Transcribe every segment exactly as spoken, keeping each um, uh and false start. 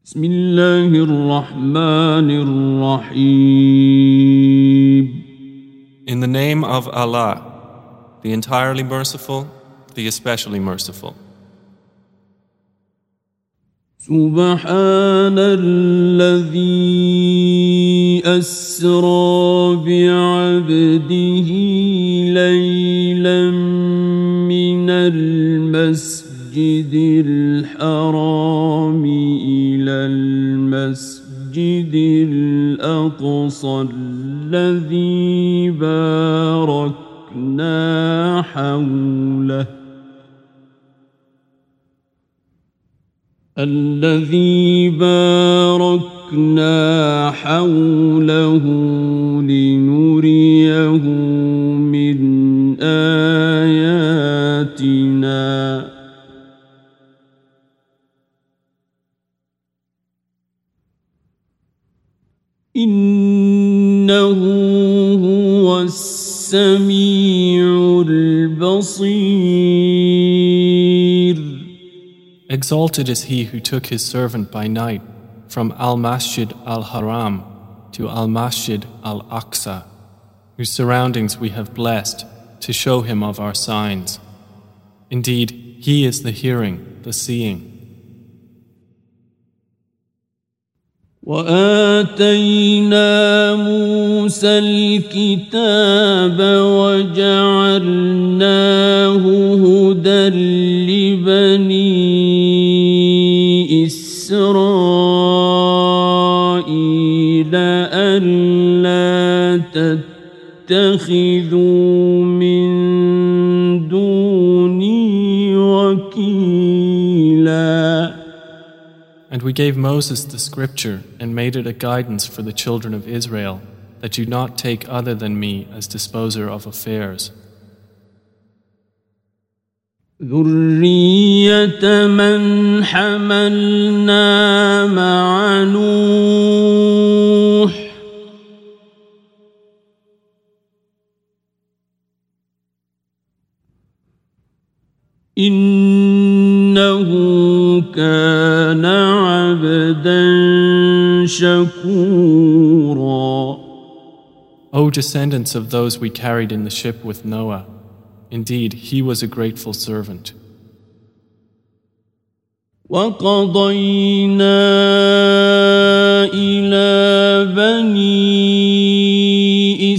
بسم الله الرحمن الرحيم. In the name of Allah, the entirely merciful, the especially merciful. سبحان الذي أسرى بعبده ليلا من المسجد الحرام إلى المسجد الأقصى الذي باركنا حوله الذي باركنا حوله لنريه من آياتنا إنه هو السميع البصير. Exalted is he who took his servant by night from Al-Masjid Al-Haram to Al-Masjid Al-Aqsa, whose surroundings we have blessed to show him of our signs. Indeed, he is the hearing, the seeing. وآتينا موسى الكتاب وجعلناه هدى لبني إسرائيل ألا تتخذوا من دوني وكيلا. And we gave Moses the scripture and made it a guidance for the children of Israel, that do not take other than me as disposer of affairs. ذرية من حملنا مع نوح إنه كان عبدا شكورا. O descendants of those we carried in the ship with Noah, indeed he was a grateful servant. وقضينا إلى بني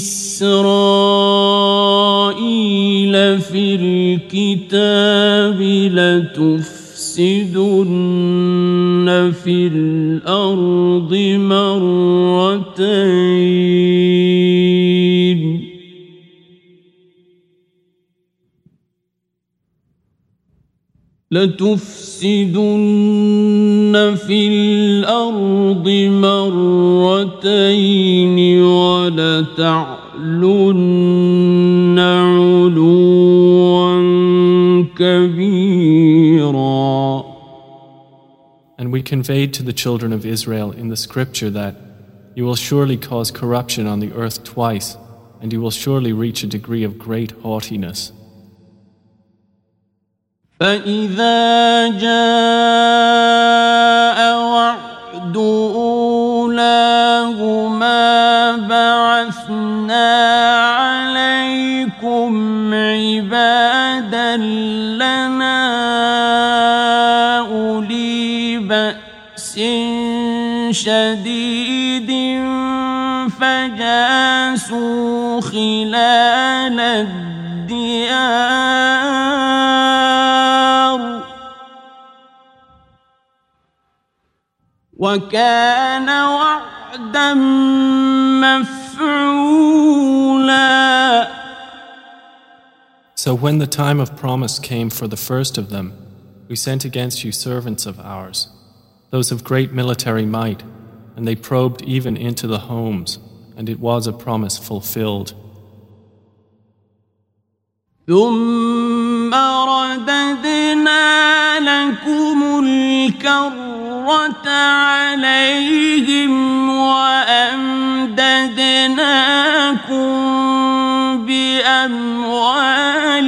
إسرائيل في الكتاب لتفسدن في الأرض مرتين لتفسدن في الأرض مرتين ولتعلن علوا كبيرا. And we conveyed to the children of Israel in the scripture that you will surely cause corruption on the earth twice, and you will surely reach a degree of great haughtiness. فإذا جاء وعد أولاهما بعثنا عليكم عبادا لنا أولي بأس شديد فجاسوا خلال الديار وكان وعدا مفعولا. So when the time of promise came for the first of them, we sent against you servants of ours, those of great military might, and they probed even into the homes, and it was a promise fulfilled. ثم رددنا لكم الكرة عليهم وأمددناكم بأموال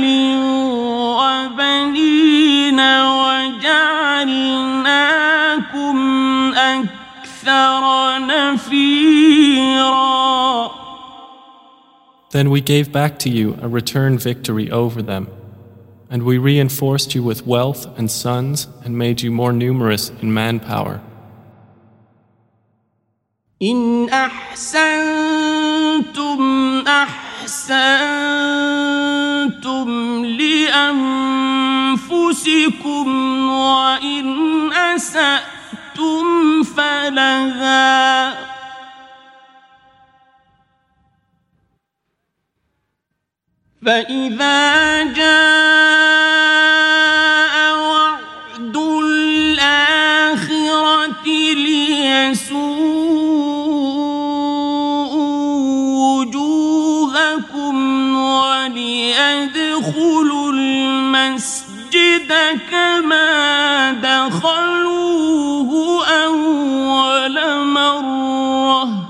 وبنين وجعلناكم أكثر نفيرا. Then we gave back to you a return victory over them, and we reinforced you with wealth and sons and made you more numerous in manpower. إن أحسنتم أحسنتم لأنفسكم وإن أسأتم فلها فإذا جاء وعد الآخرة ليسوءوا وليدخلوا المسجد كما دخلوه أول مرة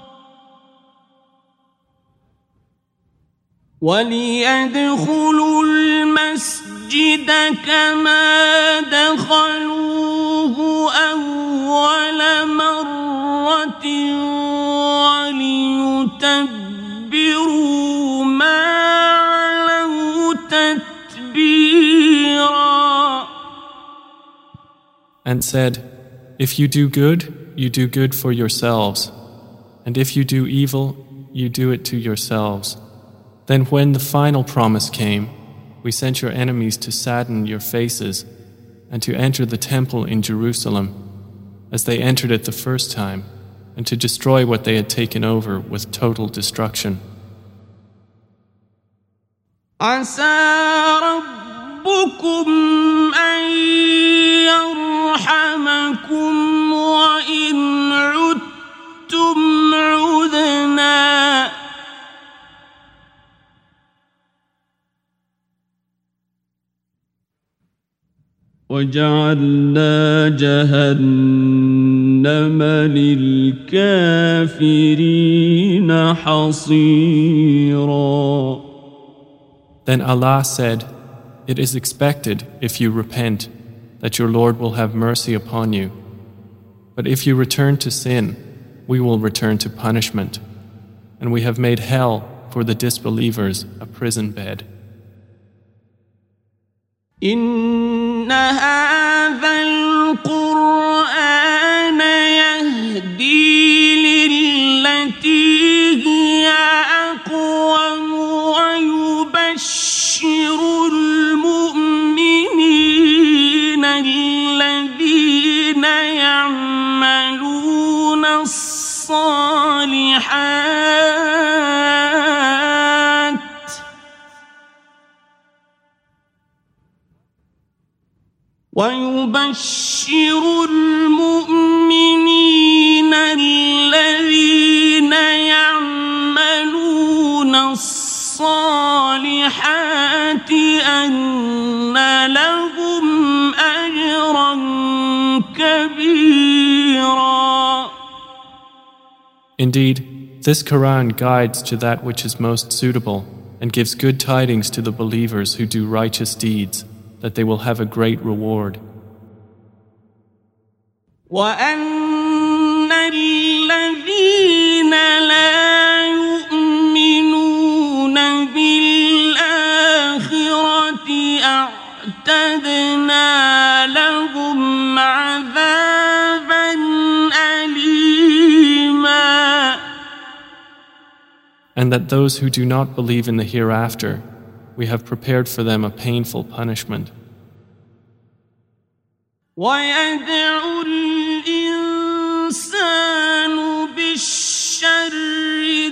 وليدخلوا المسجد كما دخلوه أول مرة وليتبروا ما علوا تتبيرا. And said, if you do good, you do good for yourselves, and if you do evil, you do it to yourselves. Then when the final promise came, we sent your enemies to sadden your faces and to enter the temple in Jerusalem as they entered it the first time, and to destroy what they had taken over with total destruction. عسى ربكم أن يرحمكم وإن عدتم عدنا وجعلنا جهنم للكافرين حصيرا. Then Allah said, it is expected, if you repent, that your Lord will have mercy upon you. But if you return to sin, we will return to punishment. And we have made hell for the disbelievers a prison bed. إن هذا القرآن يهدي للتي هي أقوم ويبشر المؤمنين الذين يعملون الصالحات ويبشر المؤمنين الذين يعملون الصالحات أن لهم أجرا كبيرا. Indeed, this Quran guides to that which is most suitable and gives good tidings to the believers who do righteous deeds, that they will have a great reward. وَأَنَّ الَّذِينَ لَا يُؤْمِنُونَ بِالْآخِرَةِ أَعْتَدْنَا لَهُمْ عَذَابًا أَلِيمًا. And that those who do not believe in the hereafter, we have prepared for them a painful punishment. وَيَدْعُ الْإِنسَانُ بِالشَّرِّ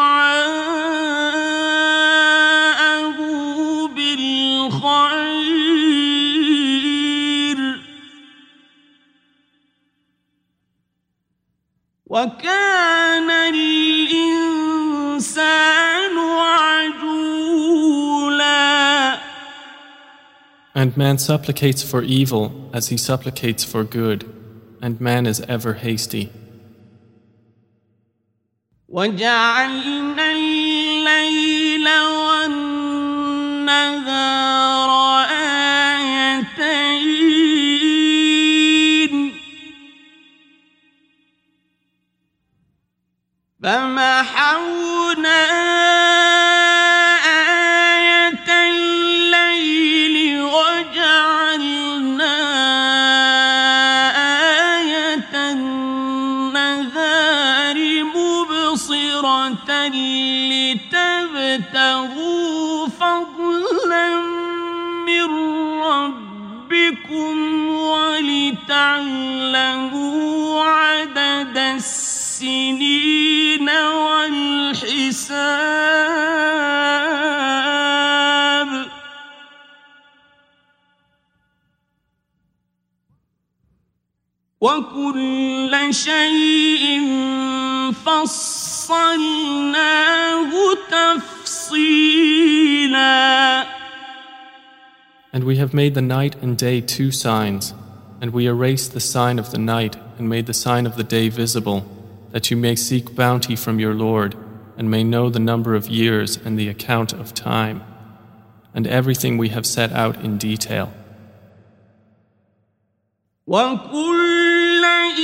دُعَاءَهُ بِالْخَيْرِ وَكَانَ الْإِنسَانُ عَجُولًا. And man supplicates for evil as he supplicates for good, and man is ever hasty. وَجَعَلْنَا اللَّيْلَ وَالنَّهَارَ آيَتَيْنِ فمحونا آية الليل وجعلنا آية النهار مبصرة لتبتغوا فضلا من ربكم ولتعلموا عدد السنين والحساب وكل شيء فصلناه تفصيلا. And we have made the night and day two signs, and we erased the sign of the night and made the sign of the day visible, that you may seek bounty from your Lord and may know the number of years and the account of time, and everything we have set out in detail. وَكُلَّ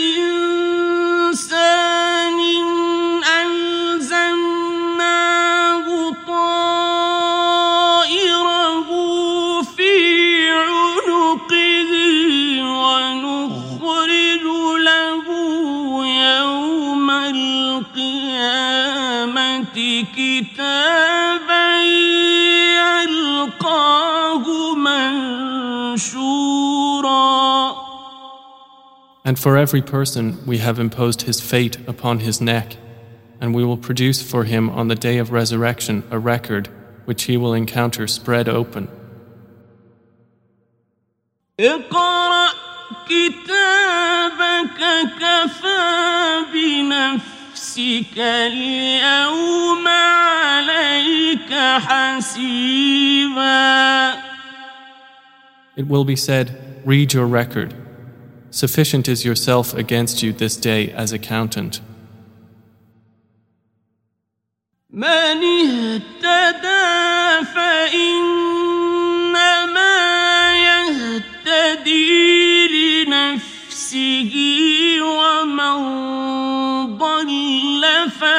إِنسَانٍ أَلْزَمْنَاهُ طَائِرَهُ فِي عُنُقِهِ وَنُخْرِجُ لَهُ يَوْمَ الْقِيَامَةِ كِتَابًا يَلْقَاهُ مَنشُورًا. And for every person we have imposed his fate upon his neck, and we will produce for him on the day of resurrection a record which he will encounter spread open. اقرأ كتابك كفى بنفسك اليوم عليك حسيبا. It will be said, read your record. Sufficient is yourself against you this day as accountant. من اهتدى فإنما يهتدي لنفسه ومن ضل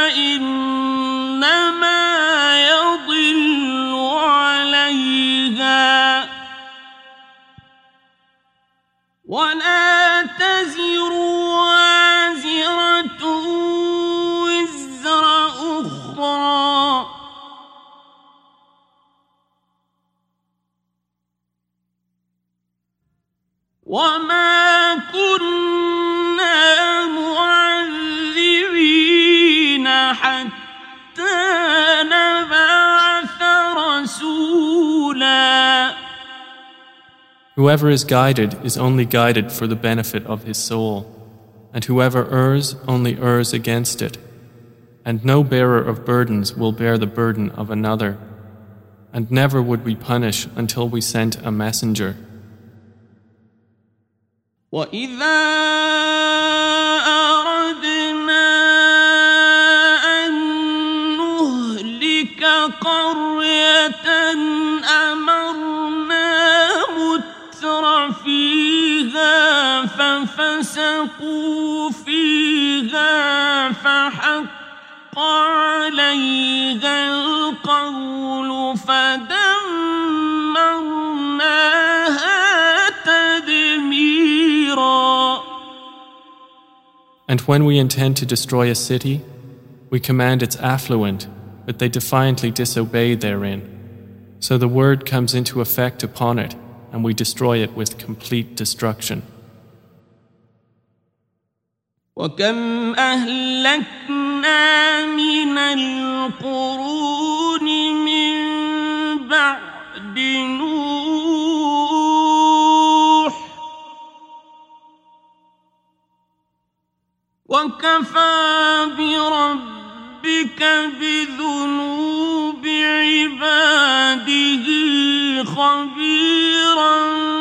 فإنما يضل عليها ولا تزر وازرة وزر أخرى وما كنا معذبين حتى نبعث رسولا. Whoever is guided is only guided for the benefit of his soul, and whoever errs only errs against it. And no bearer of burdens will bear the burden of another, and never would we punish until we sent a messenger. وَإِذَا أَرَدْنَا أَن نُّهْلِكَ قَرْيَةً أَمَرْنَا مُتْرَ فِيهَا فَفَسَقُوا فِيهَا فَحَقَّ عَلَيْهَا الْقَوْلُ فَدَمَّرْنَاهَا تَدْمِيرًا. And when we intend to destroy a city, we command its affluent, but they defiantly disobey therein. So the word comes into effect upon it, and we destroy it with complete destruction. وَكَمْ أَهْلَكْنَا مِنَ الْقُرُونِ مِنْ بَعْدِ نُوحٍ وَكَفَى بِرَبِّكَ بِذُنُوبِ عِبَادِهِ خَبِيرًا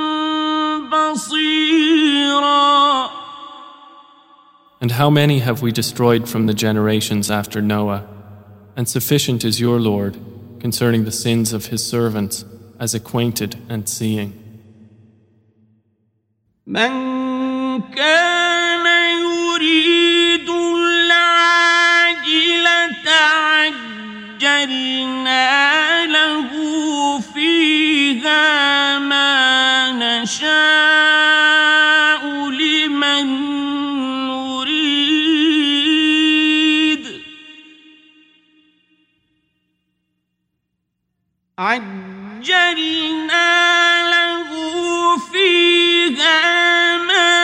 بَصِيرًا. And how many have we destroyed from the generations after Noah? And sufficient is your Lord concerning the sins of his servants as acquainted and seeing. من كان يريد العاجلة عجلنا له فيها ما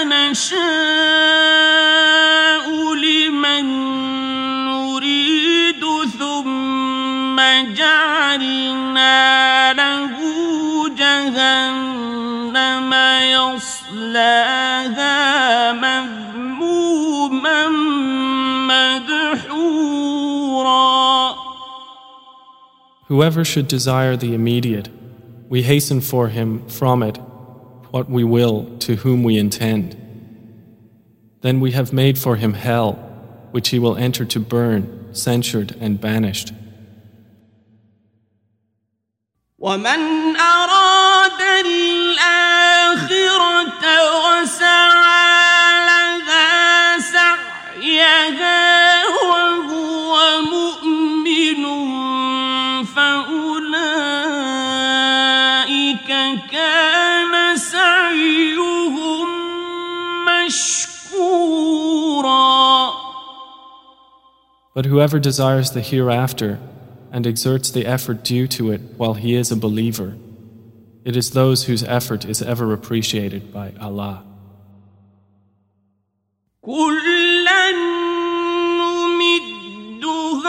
نشاء لمن نريد ثم جعلنا له جهنم يصلاها مذموما مدحورا. Whoever should desire the immediate, we hasten for him from it what we will to whom we intend. Then we have made for him hell, which he will enter to burn, censured and banished. ومن أراد الآخرة وسعى لها سعيها وهو مؤمن فأولئك كان سعيهم مشكورا. But whoever desires the hereafter and exerts the effort due to it while he is a believer, it is those whose effort is ever appreciated by Allah. كُلًّا نُمِدُّ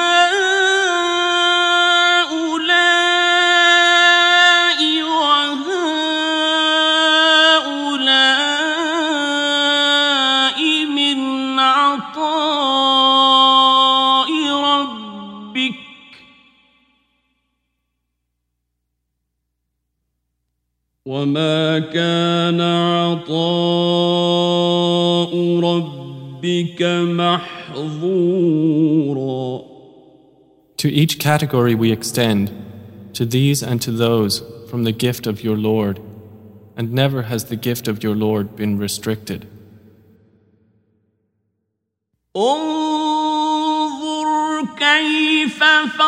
هَؤُلَاءِ وَهَؤُلَاءِ مِنْ عَطَاءِ رَبِّكَ وَمَا كَانَ عَطَاءُ رَبِّكَ مَحْظُورًا. To each category we extend, to these and to those, from the gift of your Lord, and never has the gift of your Lord been restricted. انظر كيف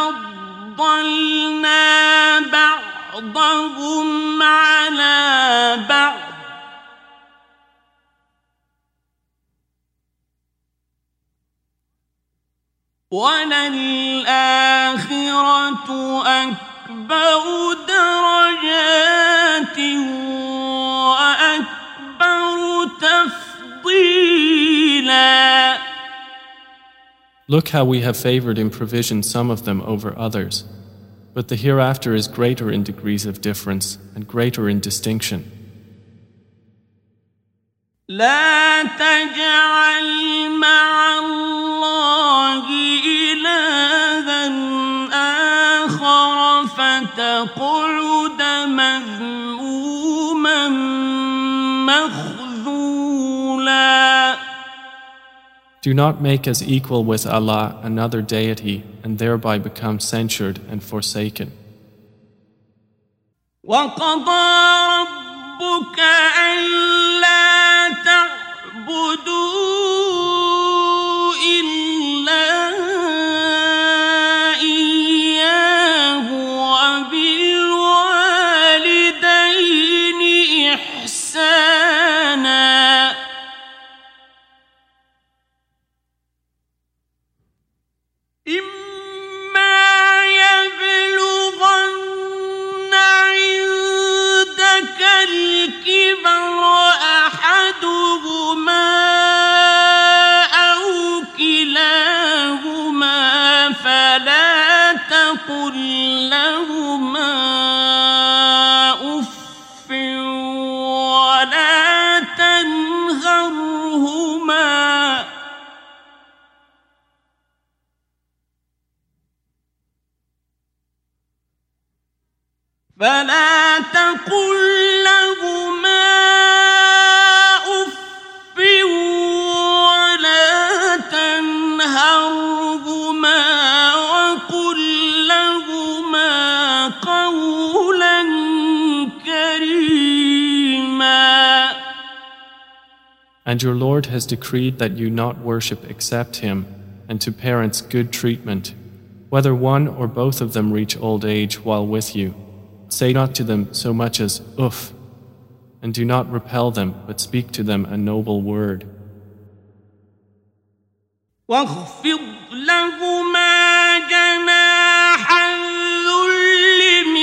فضلنا بعضهم على بعض وللآخرة أكبر درجات وأكبر تفضيلا. Look how we have favored in provision some of them over others, but the hereafter is greater in degrees of difference and greater in distinction. لا تجعل مع الله إلها آخر فتقعد مذموما مخذولا. Do not make as equal with Allah another deity and thereby become censured and forsaken. وَقَضَى رَبُّكَ أَلَّا تَعْبُدُوا إِلَّا إِيَّاهُ وَبِالْوَالِدَيْنِ إِحْسَانًا. إِمَّا يَبْلُغَنَّ عِندَكَ الْكِبَرَ أَحَدُهُمَا أَوْ كِلَاهُمَا فَلَا تَقُل لَّهُمَا أُفٍّ وَلَا تَنْهَرْهُمَا فلا تقل لهما أف ولا تنهرهما وقل لهما قولا كريما. And your Lord has decreed that you not worship except Him, and to parents good treatment, whether one or both of them reach old age while with you. Say not to them so much as uff, and do not repel them, but speak to them a noble word. واخفض لهما جناح الذل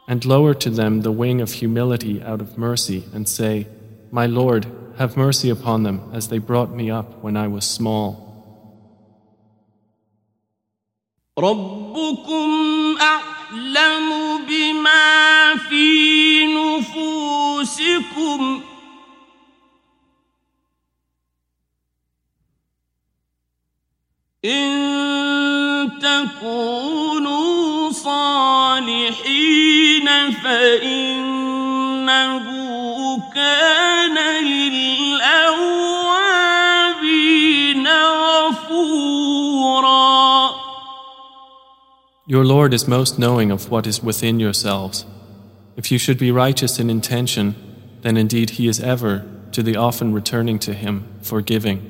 And lower to them the wing of humility out of mercy and say, My Lord, have mercy upon them as they brought me up when I was small. ربكم أعلم بما في نفوسكم إن تكونوا صالحين فإنه كان للأوابين غفورا. Your Lord is most knowing of what is within yourselves. If you should be righteous in intention, then indeed He is ever, to the often returning to Him, forgiving.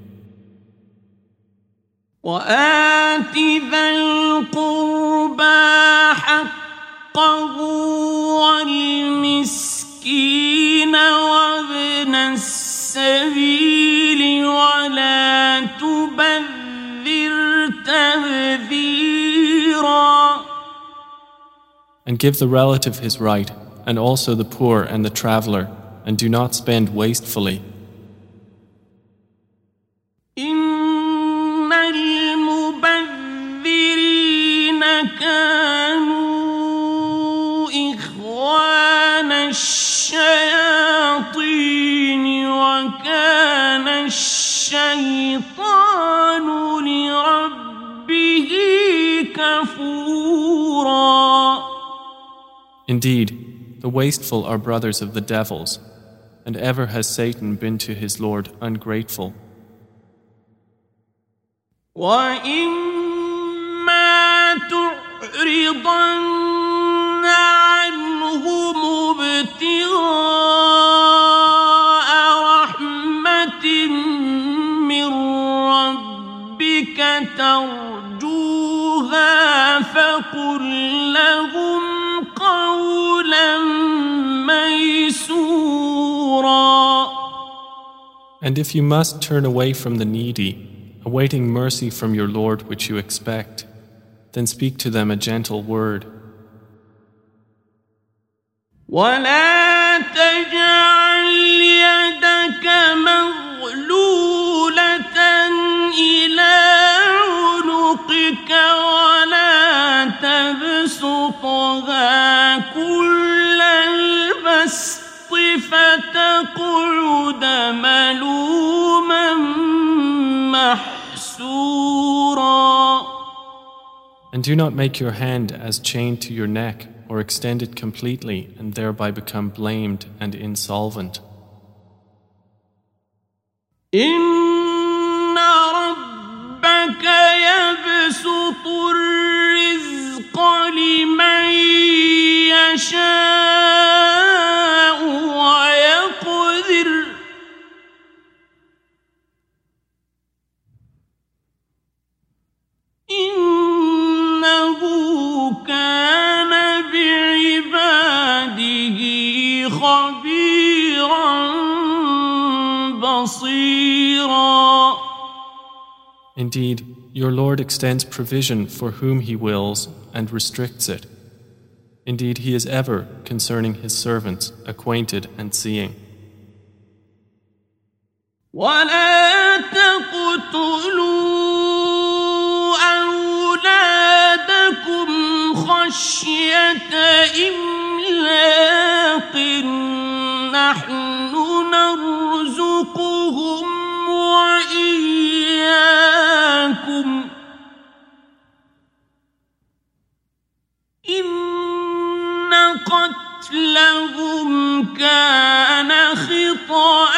وآت ذا القربى حقه والمسكين وابن السبيل ولا تبذر تبذيرا. And give the relative his right, and also the poor and the traveler, and do not spend wastefully. إن المبذرين كانوا إخوان الشياطين وكان الشيطان لربه كفورا. Indeed, the wasteful are brothers of the devils, and ever has Satan been to his Lord ungrateful. وَإِمَّا تُعْرِضَنَّ عَنْهُمُ ابْتِغَاءَ رَحْمَةٍ مِّن رَّبِّكَ تَرْجُوهَا فَقُل لَّهُمْ قَوْلًا مَّيْسُورًا. And if you must turn away from the needy, awaiting mercy from your Lord which you expect, then speak to them a gentle word. وَلَا تَجْعَلْ يَدَكَ مَغْلُولَةً إِلَىٰ عُنُقِكَ وَلَا تَبْسُطْهَا كُلَّ الْبَسْطِ فَتَقْعُدَ مَلُومًا محسورا. And do not make your hand as chained to your neck, or extend it completely and thereby become blamed and insolvent. إن ربك يبسط الرزق لمن يشاء ويقدر إنه كان بعباده خبيرا بصيرا. Indeed, your Lord extends provision for whom He wills and restricts it. Indeed, He is ever, concerning His servants, acquainted and seeing. وَلَا تَقْتُلُوا أَوْلَادَكُمْ خَشْيَةَ إِمْلَاقٍ نَحْنُ نَرْزُقُهُمْ وَإِيَّاكُمْ إِنَّ قَتْلَهُمْ كَانَ خِطْأً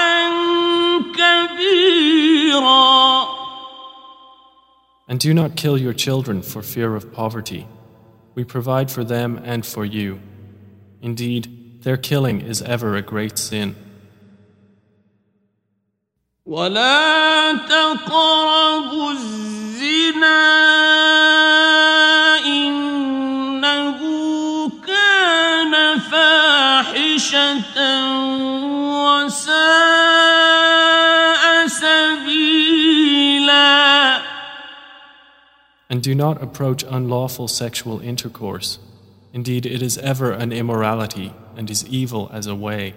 كَبِيرًا. And do not kill your children for fear of poverty. We provide for them and for you. Indeed, their killing is ever a great sin. وَلَا تَقْرَبُوا الزِّنَا إِنَّهُ كَانَ فَاحِشَةً وَسَاءَ سَبِيلًا. And do not approach unlawful sexual intercourse. Indeed, it is ever an immorality and is evil as a way.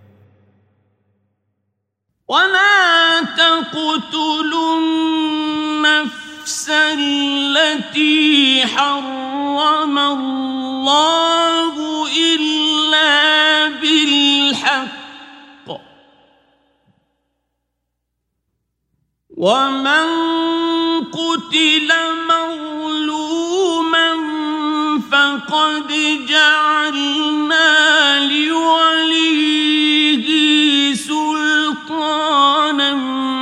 ولا تقتلوا النفس التي حرم الله إلا بالحق ومن قتل مظلوما فقد جعلنا لوليه سلطانا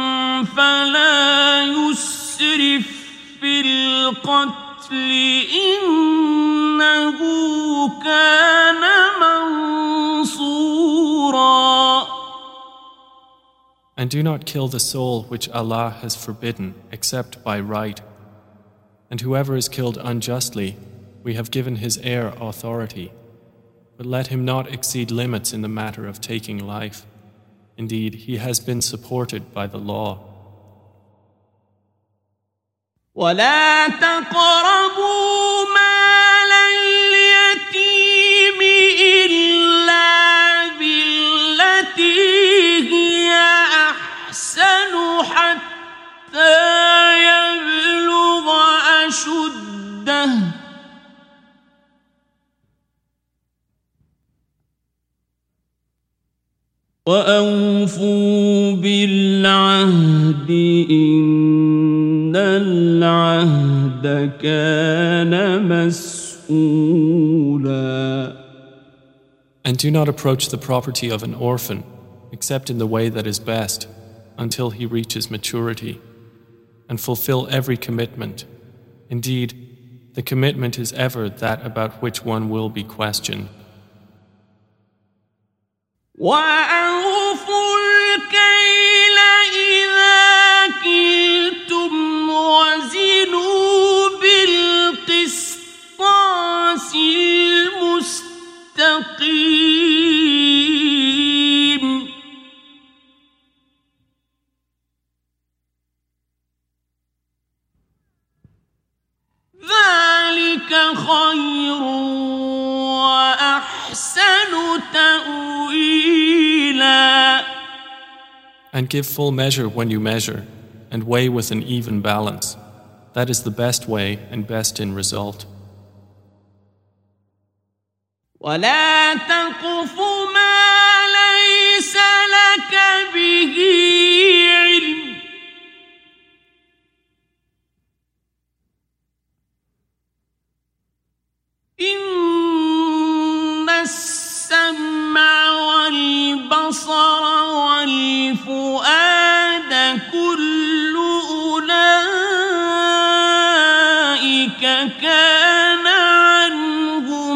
فلا يسرف في القتل إنه كان منصورا. And do not kill the soul which Allah has forbidden except by right. And whoever is killed unjustly, we have given his heir authority. But let him not exceed limits in the matter of taking life. Indeed, he has been supported by the law. ولا تقربوا مال اليتيم إلا بالتي هي أحسن حتى يبلغ أشده وأوفوا بالعهد إن العهد كان مسؤولا. And do not approach the property of an orphan except in the way that is best until he reaches maturity, and fulfill every commitment. Indeed, the commitment is ever that about which one will be questioned. وأوفوا الكيل إذا كلتم وزنوا بالقسطاس المستقيم ذلك خير وأحسن تأويلا. And give full measure when you measure, and weigh with an even balance. That is the best way and best in result. ولا تقف ما ليس لك به علم إن السمع والبصر والفؤاد كل أولئك كان عنه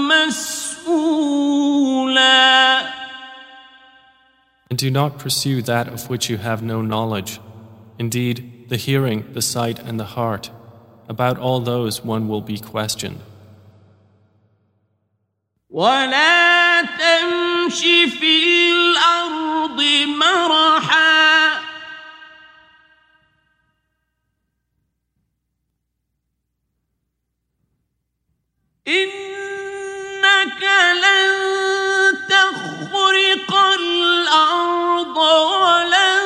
مسؤولا. And do not pursue that of which you have no knowledge. Indeed, the hearing, the sight, and the heart, about all those one will be questioned. ولا تمش في الأرض مرحا إنك لن تخرق الأرض ولن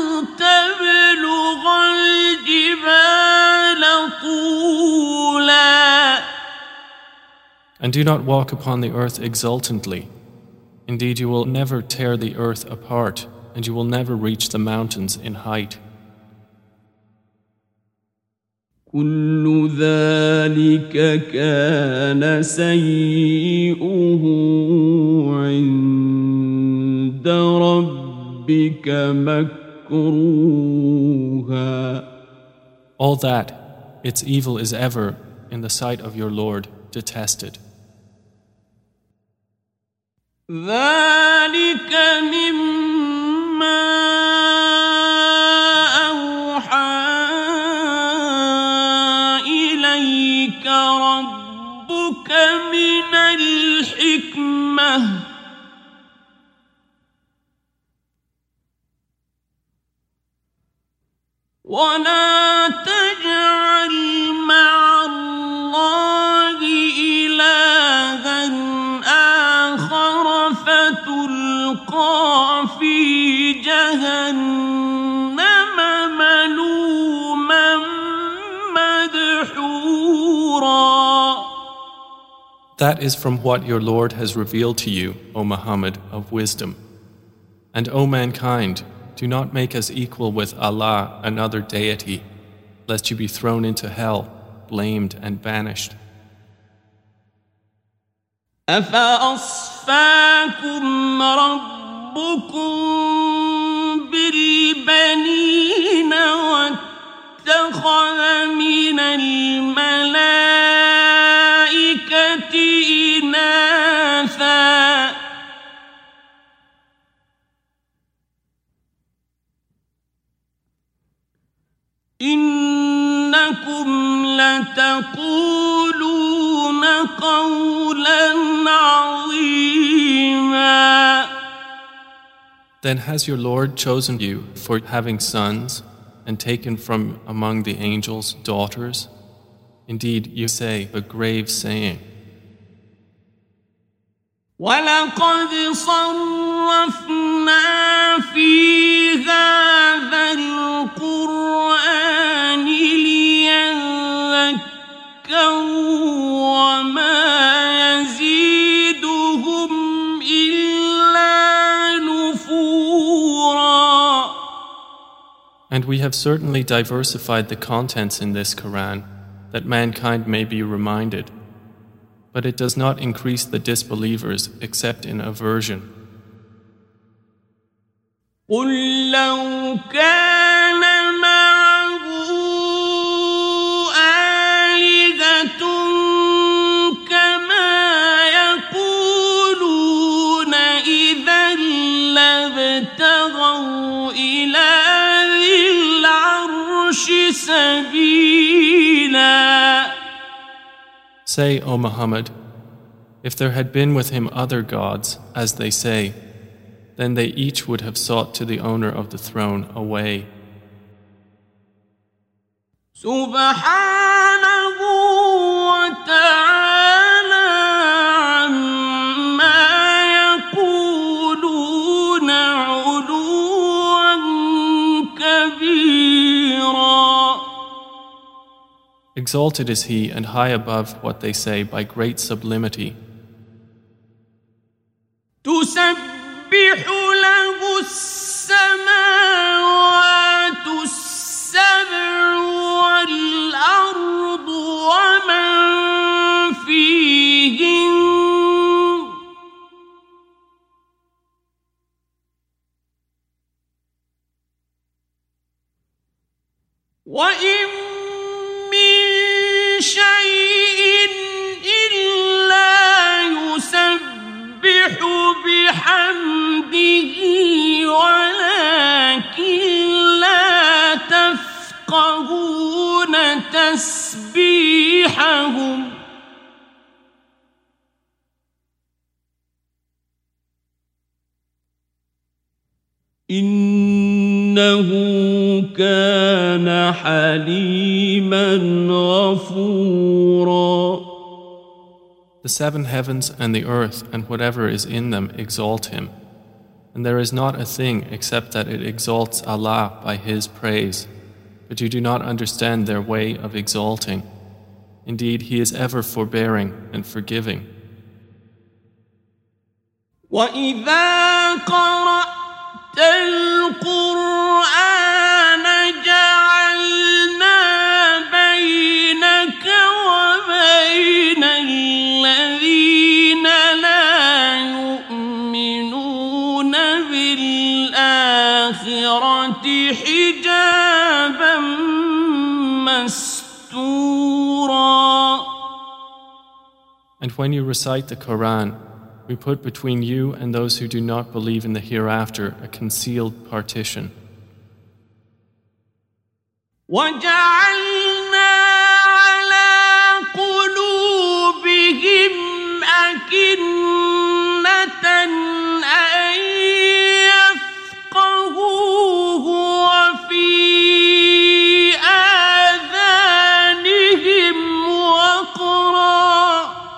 تبلغ الجبال طولا. And do not walk upon the earth exultantly. Indeed, you will never tear the earth apart, and you will never reach the mountains in height. كل ذلك كان سيئه عند ربك مكروها. All that, its evil is ever, in the sight of your Lord, detested. ذلك مما أوحى إليك ربك من الحكمة ولا تجعل مع الله إلها That is from what your Lord has revealed to you, O Muhammad, of wisdom. And O mankind, do not make us equal with Allah, another deity, lest you be thrown into hell, blamed and banished. أفأصفاكم ربكم بالبنين واتخذ من الملائكة إناثا إنكم لتقولون قولا عظيما. Then has your Lord chosen you for having sons and taken from among the angels daughters? Indeed, you say a grave saying. وَلَقَدْ صَرَّفْنَا فِي هَذَا الْقُرْآنِ لِيَذَّكَّرُوا وَمَا يَزِيدُهُمْ إِلَّا نُفُورًا. And we have certainly diversified the contents in this Quran, that mankind may be reminded. But it does not increase the disbelievers except in aversion. قُلْ لَوْ كَانَ مَعَهُ آلِهَةٌ كَمَا يَقُولُونَ إِذًا لَابْتَغَوْا إِلَى ذِي الْعَرْشِ سَبِيلًا. Say, O Muhammad, if there had been with him other gods, as they say, then they each would have sought to the owner of the throne a way. سبحانه وتعالى عما يقولون علوا كبيرا. Exalted is he and high above what they say by great sublimity. تسبح له السماوات السبع والأرض ومن فيهن وإن من شيء إلا يسبح بحمده ولكن لا تفقهون تسبيحهم إنه كان حليما غفورا. The seven heavens and the earth and whatever is in them exalt him. And there is not a thing except that it exalts Allah by His praise. But you do not understand their way of exalting. Indeed, He is ever forbearing and forgiving. وَإِذَا قَرَأْتَ الْقُرْآنَ جَعَلْنَا بَيْنَكَ وَبَيْنَ الَّذِينَ لَا يُؤْمِنُونَ بِالْآخِرَةِ حِجَابًا مَسْتُورًا. And when you recite the Quran, we put between you and those who do not believe in the hereafter a concealed partition. وَجَعَلْنَا عَلَى قُلُوبِهِمْ أَكِنَّةً أَن يَفْقَهُوهُ وَفِي آذَانِهِمْ وَقْرًا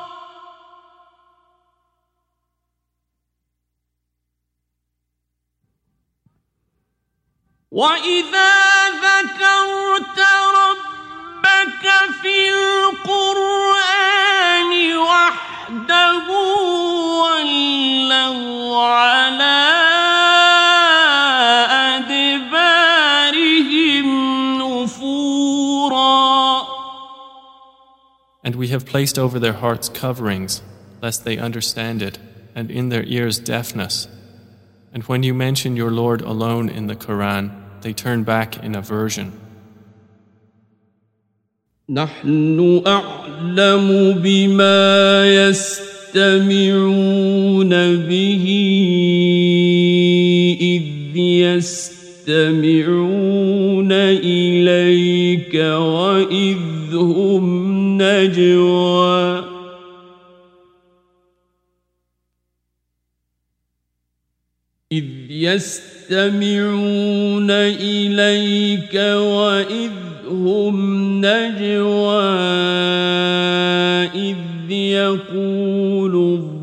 وَإِذَا ذَكَرْتَ رَبَّكَ فِي الْقُرْآنِ وَحْدَهُ And we have placed over their hearts coverings, lest they understand it, and in their ears deafness. And when you mention your Lord alone in the Quran, they turn back in aversion. نحن أعلم بما يستمعون به إذ يستمعون إليك وإذ هم نجوى إذ يستمعون إليك وإذ هم نجوى إذ يقول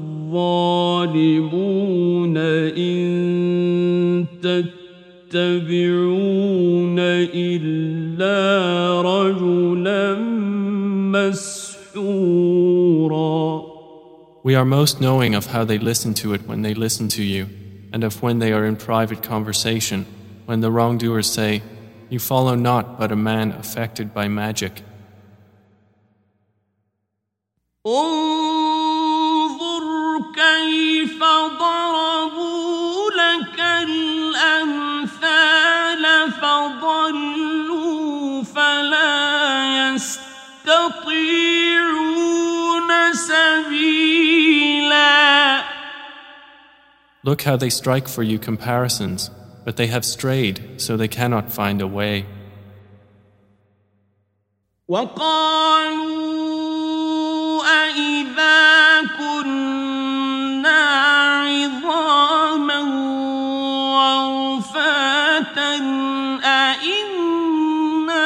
الظالمون إن تتبعون إلا رجلا مسحورا. We are most knowing of how they listen to it when they listen to you, and of when they are in private conversation, when the wrongdoers say, "You follow not but a man affected by magic." انظر كيف ضربوا لك الأمثال فضلوا فلا يستطيعون سبيلا. Look how they strike for you comparisons, but they have strayed, so they cannot find a way. وقالوا أإذا كنا عظاما ورفاتا أإنا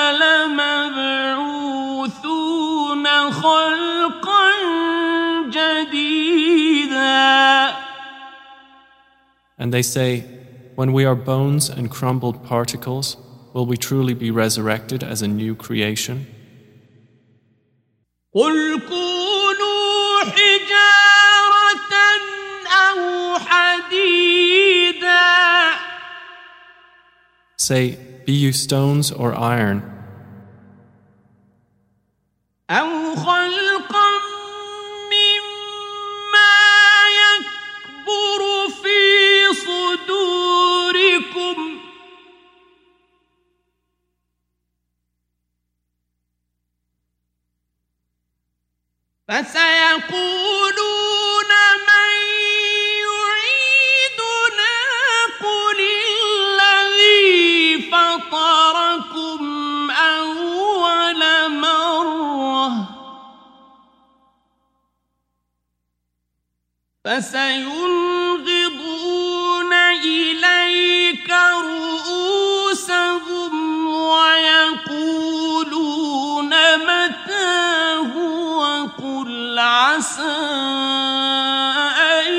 لمبعوثون خلقا جديدا. And they say, when we are bones and crumbled particles, will we truly be resurrected as a new creation? قل كونوا حجارة أو حديدا. Say, be you stones or iron, أو خلقا مما يكبر في صدوركم فسيقولون من يعيدنا قل الذي فطركم أول مرة فسينغضون إليك رؤوسهم ويقولون متى هو قل عسى أن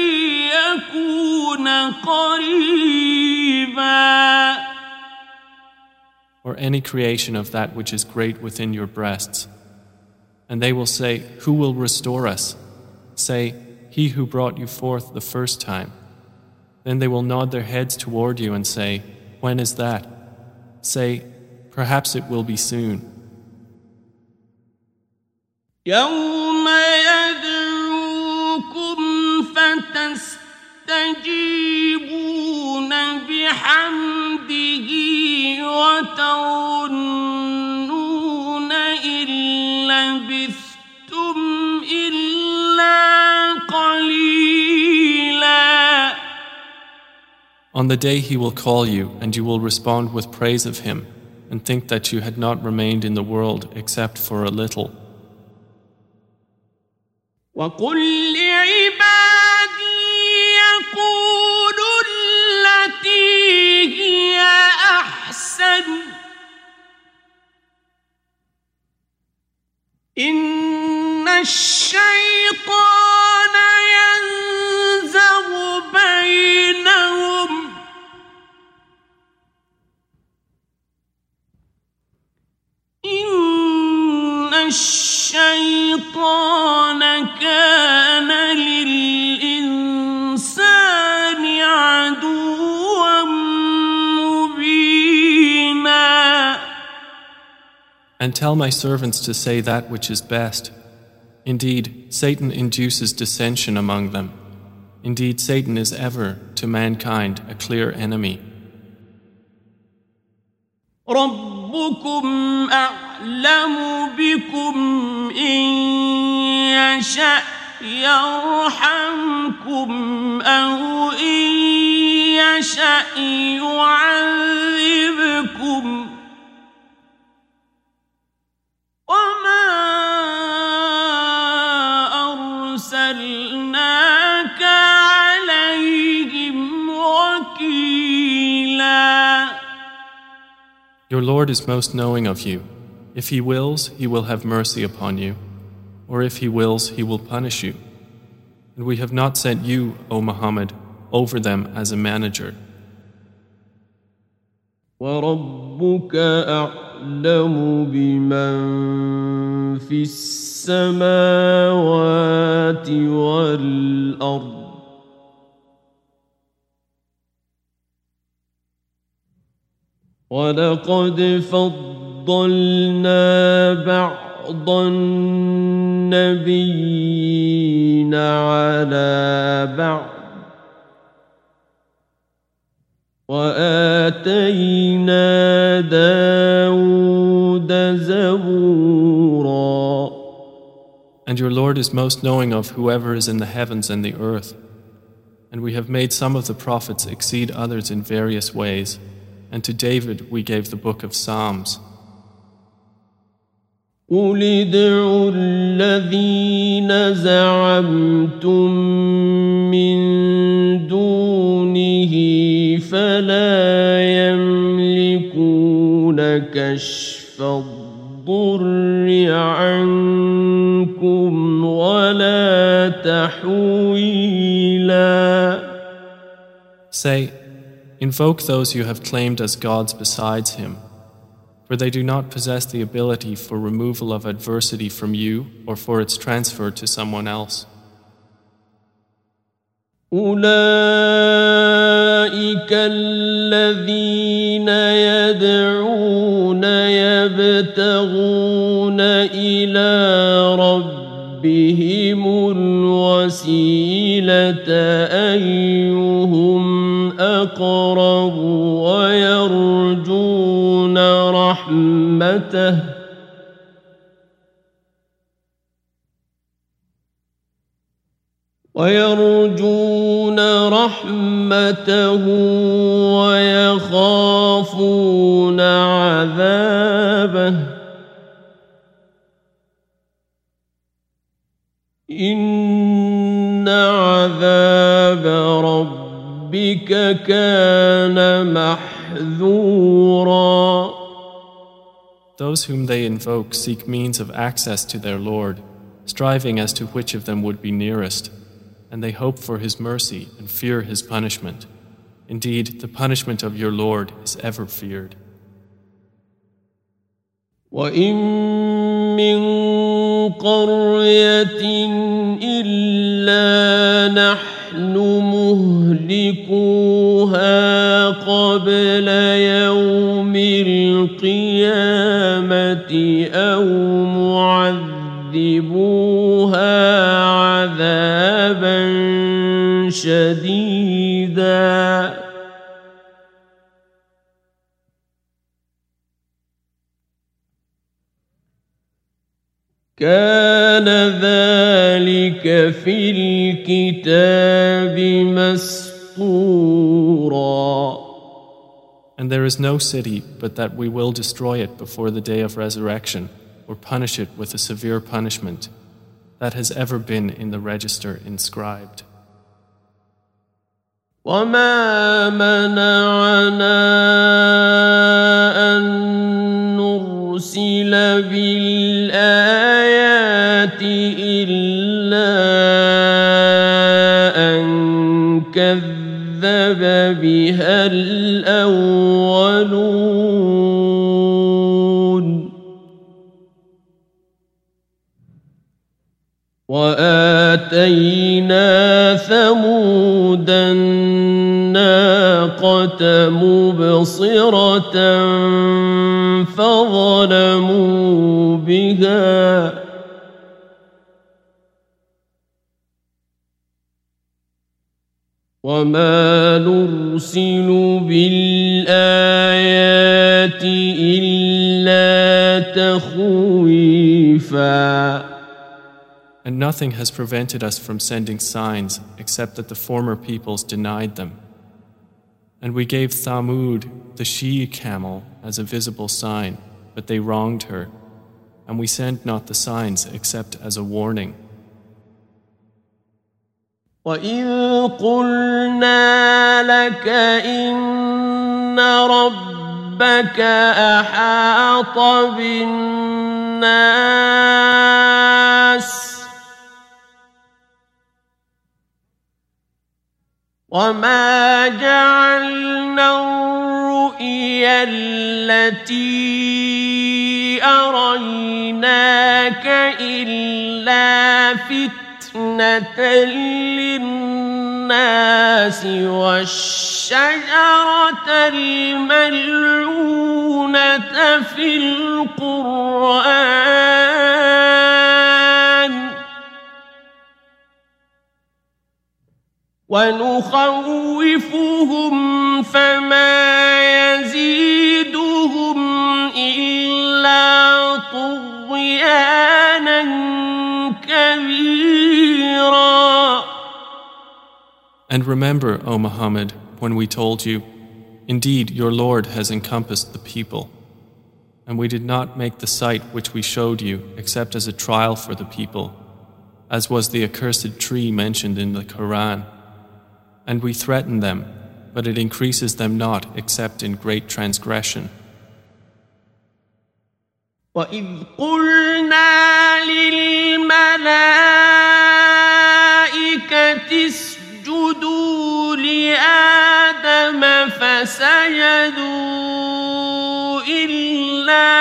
يكون قريبا. or any creation of that which is great within your breasts. And they will say, who will restore us? Say, he who brought you forth the first time. Then they will nod their heads toward you and say, when is that? Say, perhaps it will be soon. يوم يدعوكم فتستجيبون بحمده وتظنون إن لبثتم إلا قليلا. On the day he will call you, and you will respond with praise of him, and think that you had not remained in the world except for a little. وقل لعبادي يقولوا التي هي أحسن إن الشيطان ينزغ بينهم إن الشيطان كان للإنسان عدوا مبينا. And tell my servants to say that which is best. Indeed, Satan induces dissension among them. Indeed, Satan is ever, to mankind, a clear enemy. ربكم أعلم بكم إن يشأ يرحمكم أو إن يشأ يعذبكم وما أرسلناك عليهم وكيلا. Your Lord is most knowing of you. If He wills, He will have mercy upon you, or if He wills, He will punish you. And we have not sent you, O Muhammad, over them as a manager. وَرَبُّكَ أَعْلَمُ بِمَنْ فِي السَّمَاوَاتِ وَالْأَرْضِ وَلَقَدْ فَضَّلْنَا بَعْضَ النَّبِيِّينَ عَلَى بَعْضٍ وَآتَيْنَا دَاوُودَ زَبُورًا. And your Lord is most knowing of whoever is in the heavens and the earth. And we have made some of the prophets exceed others in various ways. And to David we gave the book of Psalms. قُلِ ادْعُوا الَّذِينَ زَعَمْتُم مِّن دُونِهِ فَلَا يَمْلِكُونَ كَشْفَ الضُّرِّ عَنكُمْ وَلَا تَحْوِيلًا. Say, invoke those you have claimed as gods besides Him, for they do not possess the ability for removal of adversity from you or for its transfer to someone else. أولئك الذين يدعون يبتغون إلى ربهم الوسيلة أيهم أقرب ويرجون رحمته ويرجون رحمته ويخافون عذابه إن عذاب ربك كان محذورا. Those whom they invoke seek means of access to their Lord, striving as to which of them would be nearest, and they hope for His mercy and fear His punishment. Indeed, the punishment of your Lord is ever feared. وَإِن مِّن قَرْيَةٍ إِلَّا نَحْنُ مُهْلِكُوهَا قَبْلَ يَوْمِ الْقِيَامَةِ أَوْ مُعَذِّبُوهَا عَذَابًا شَدِيدًا كان ذلك في الكتاب مسطورا. And there is no city but that we will destroy it before the day of resurrection, or punish it with a severe punishment. That has ever been in the register inscribed. وما منعنا أن نرسل بالآيات إلا أن كذب بها الأولون وآتينا ثمود الناقة مبصرة فظلموا بها وما نرسل بالآيات إلا تخويفا. And nothing has prevented us from sending signs except that the former peoples denied them. And we gave Thamud, the she-camel, as a visible sign, but they wronged her. And we send not the signs except as a warning. وَإِذْ قُلْنَا لَكَ إِنَّ رَبَّكَ أَحَاطَ بِالنَّاسِ وَمَا جَعَلْنَا الرُّؤْيَا الَّتِي أَرَيْنَاكَ إِلَّا فِتْنَةً لِلنَّاسِ وَالشَّجَرَةَ الْمَلْعُونَةَ فِي الْقُرْآنِ ونخوفهم فما يزيدهم إلا طغيانا كبيرا. And remember, O Muhammad, when we told you, indeed your Lord has encompassed the people, and we did not make the sight which we showed you except as a trial for the people, as was the accursed tree mentioned in the Quran. And we threaten them, but it increases them not except in great transgression. وَإِذْ قُلْنَا لِلْمَلَائِكَةِ اسْجُدُوا لِآدَمَ فَسَجَدُوا إِلَّا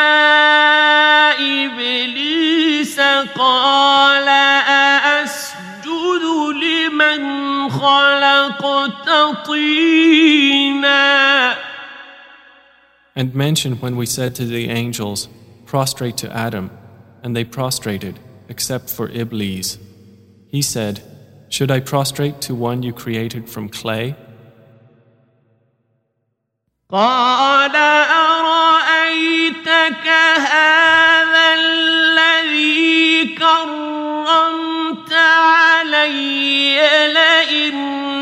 إِبْلِيسَ قَالَ أَأَسْجُدُ لِمَنْ خَلَقْتَ طِينًا. And mention when we said to the angels, prostrate to Adam, and they prostrated, except for Iblis. He said, should I prostrate to one you created from clay? قَالَ أَرَأَيْتَكَ هَذَا الَّذِي كَرَّمْتَ عَلَيَّ لَئِنْ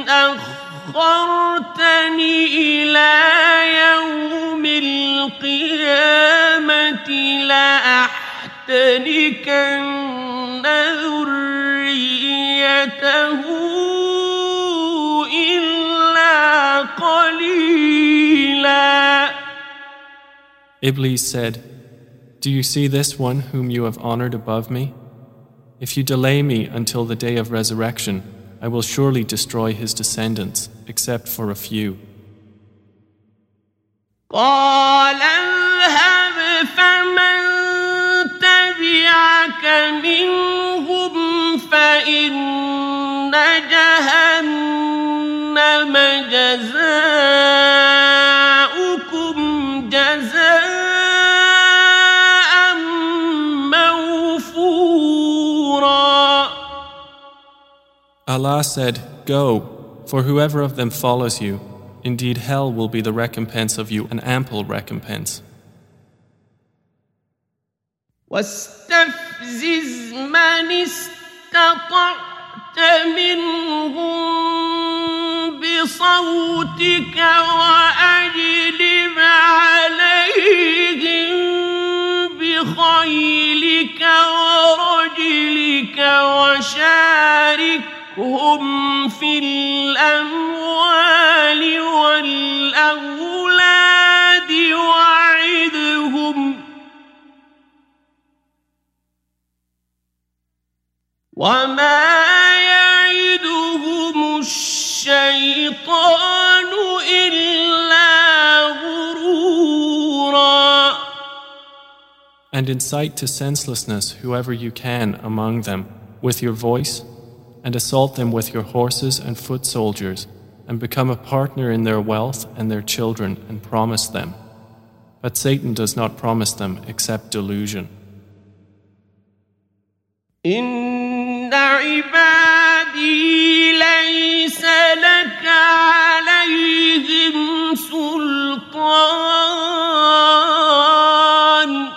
أَخَّرْتَنِ إِلَى يَوْمِ الْقِيَامَةِ لَأَحْتَنِكَنَّ ذُرِّيَّتَهُ إِلَّا قَلِيلًا. Iblis said, do you see this one whom you have honored above me? If you delay me until the day of resurrection, I will surely destroy his descendants, except for a few. قَالَ اذْهَبْ فَمَنْ تَبِعَكَ مِنْهُمْ فَإِنَّ جَهَنَّمَ جَزَاؤُكُمْ جَزَاءً مَوْفُورًا. Allah said, go, for whoever of them follows you, indeed hell will be the recompense of you, an ample recompense. واستفزز من استطعت منهم بصوتك وأجلب عليهم بخيلك ورجلك وشاركهم في الأموال والأولاد وعدهم وما يعدهم الشيطان إلا غرورا. And incite to senselessness whoever you can among them with your voice, and assault them with your horses and foot soldiers, and become a partner in their wealth and their children, and promise them. But Satan does not promise them except delusion. إن عبادي ليس لك عليهم سلطان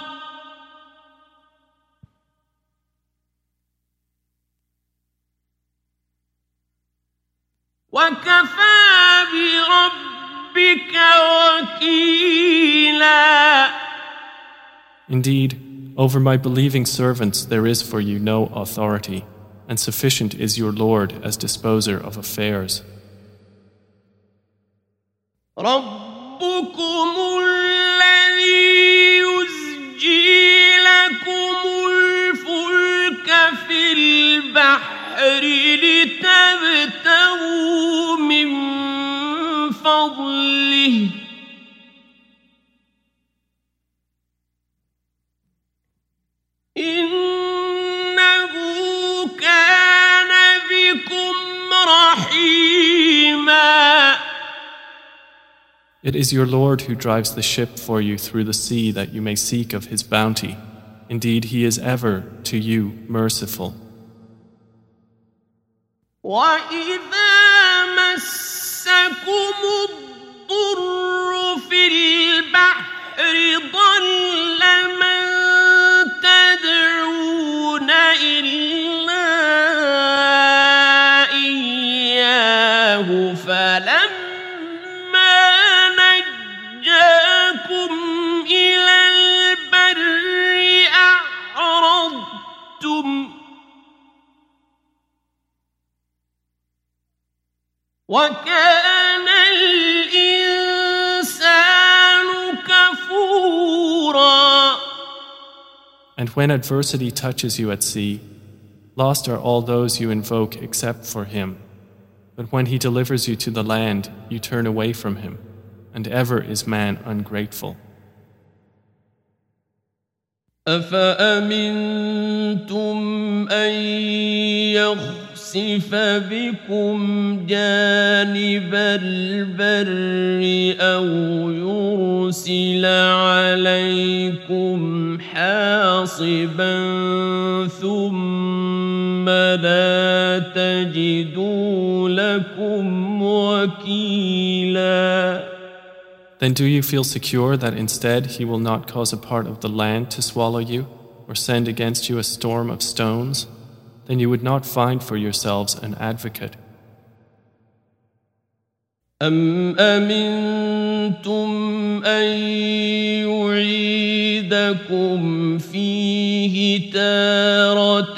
وكفى بربك وكيلا. Indeed, over my believing servants there is for you no authority, and sufficient is your Lord as disposer of affairs. ربكم الذي يزجي لكم الفلك في البحر لتبتغوا من فضله إنه كان بكم رحيما. It is your Lord who drives the ship for you through the sea that you may seek of his bounty. Indeed, he is ever to you merciful. وَإِذَا مَسَّكُمُ الضُّرُّ فِي الْبَحْرِ ضَلَّ مَن تَدْعُونَ إِلَّا إِيَّاهُ فَلَمَّا نَجَّاكُمْ إِلَى الْبَرِّ أَعْرَضْتُمْ وَكَانَ الْإِنسَانُ كَفُورًا. And when adversity touches you at sea, lost are all those you invoke except for him. But when he delivers you to the land, you turn away from him, and ever is man ungrateful. أَفَأَمِنْتُمْ أَنْ يَخْسِفَ بِكُمْ جَانِبَ الْبَرِّ أَوْ يُرْسِلَ عَلَيْكُمْ حَاصِبًا ثُمَّ لَا تَجِدُوا لَكُمْ وَكِيلًا. Then do you feel secure that instead he will not cause a part of the land to swallow you, or send against you a storm of stones? Then you would not find for yourselves an advocate. أَمْ أَمِنْتُمْ أَنْ يُعِيدَكُمْ فِيهِ تَارَةً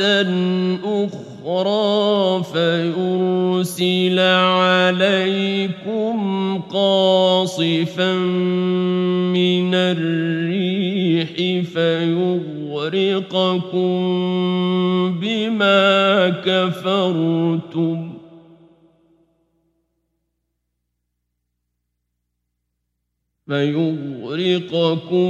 أُخْرَى فَيُرْسِلَ عَلَيْكُمْ قَاصِفًا مِنَ الرِّيحِ فَيُغْرِقَكُمْ بِمَا كَفَرْتُمْ فيغرقكم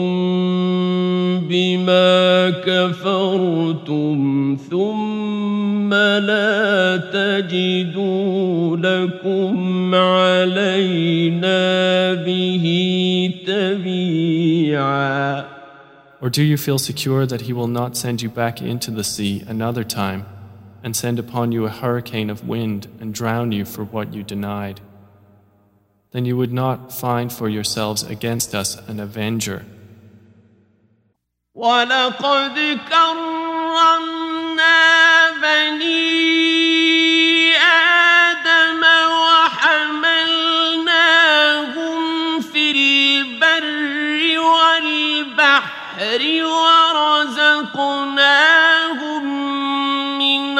بما كفرتم ثم لا تجدوا لكم علينا به تبيعا. Or do you feel secure that he will not send you back into the sea another time and send upon you a hurricane of wind and drown you for what you denied? Then you would not find for yourselves against us an avenger. وَلَقَدْ كَرَّمْنَا بَنِي آدَمَ وَحَمَلْنَاهُمْ فِي الْبَرِّ وَالْبَحْرِ وَرَزَقْنَاهُمْ مِنَ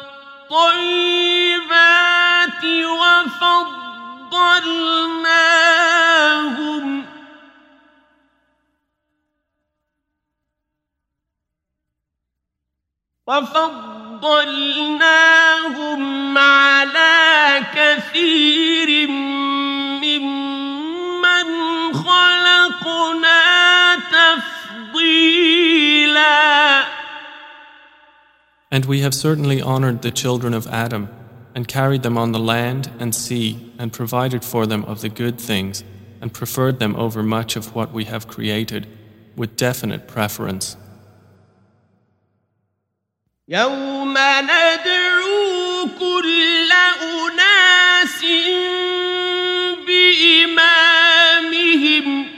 الطَّيِّبَاتِ وَفَضَّلْنَاهُمْ وَفَضَّلْنَاهُمْ عَلَى كَثِيرٍ مِّمَّنْ خَلَقْنَا تَفْضِيلًا. And we have certainly honored the children of Adam and carried them on the land and sea and provided for them of the good things and preferred them over much of what we have created with definite preference. يوم ندعو كل أناس بإمامهم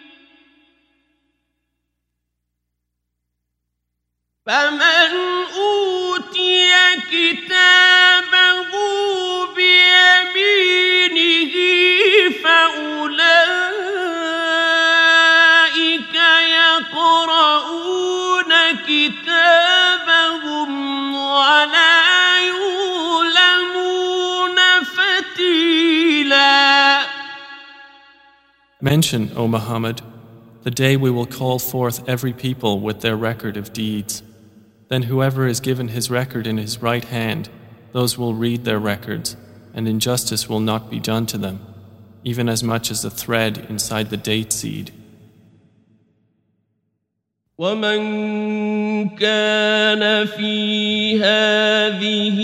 فمن أوتي كتابه بيمينه فأولئك يقرؤون كتابهم ولا يظلمون فتيلا. Mention, O Muhammad, the day we will call forth every people with their record of deeds. Then whoever is given his record in his right hand, those will read their records, and injustice will not be done to them, even as much as a thread inside the date seed. ومن كان في هذه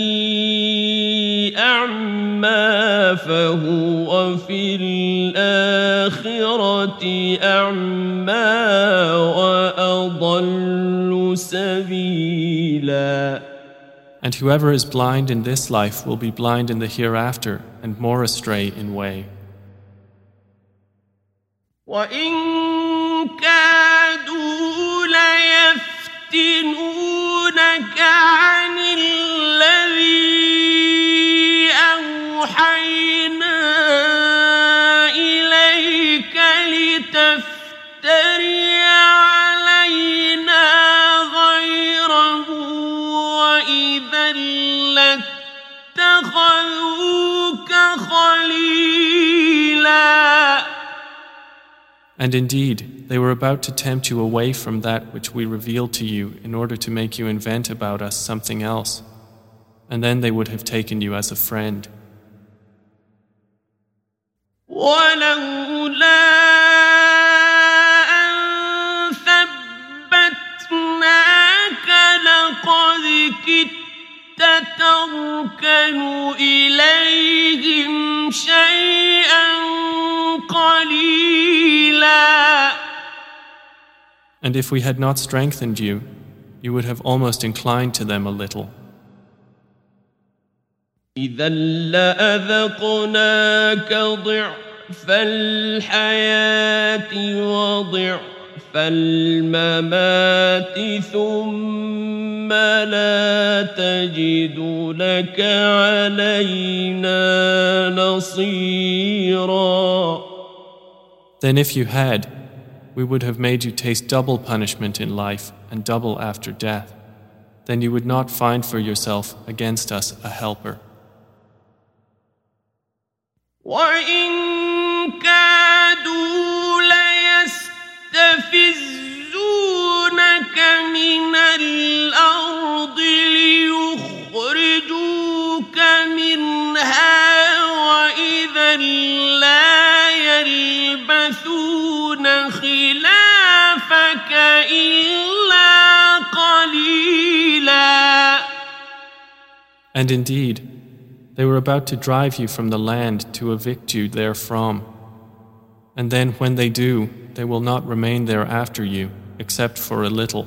أعمى فهو في الآخرة أعمى وأضل سبيلا. And whoever is blind in this life will be blind in the hereafter and more astray in way. وإن كادوا ليفتنونك عن الذي أوحينا إليك لتفتري علينا غيره وإذا لاتخذوك خليلا. And indeed, they were about to tempt you away from that which we revealed to you in order to make you invent about us something else, and then they would have taken you as a friend. ولولا أن ثبتناك لقد كدت تركن إليهم شيئا قليلا. And if we had not strengthened you, you would have almost inclined to them a little. إذا لأذقناك ضعف الحياة وضعف الممات ثم لا تجد لك علينا نصيرا. Then if you had, we would have made you taste double punishment in life and double after death. Then you would not find for yourself against us a helper. وإن كادوا ليستفزونك من الأرض ليخرجوك منها وإذا لا يلبثون خلافك إلا قليلا. And indeed, they were about to drive you from the land to evict you therefrom. And then when they do, they will not remain there after you, except for a little.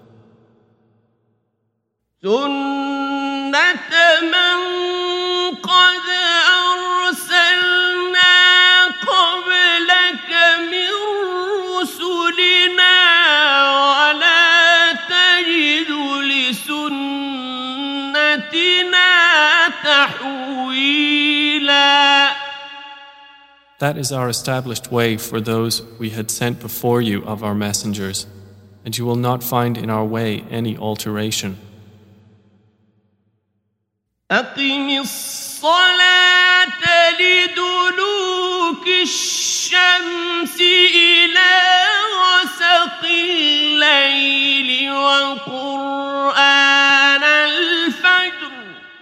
سُنَّةَ مَن قَدْ أَرْسَلْنَا قَبْلَكَ مِن رُّسُلِنَا وَلَا تَجِدُ لِسُنَّتِنَا تَحْوِيلًا. That is our established way for those we had sent before you of our messengers, and you will not find in our way any alteration. أقم الصلاة لدلوك الشمس إلى غسق الليل وقرآن الفجر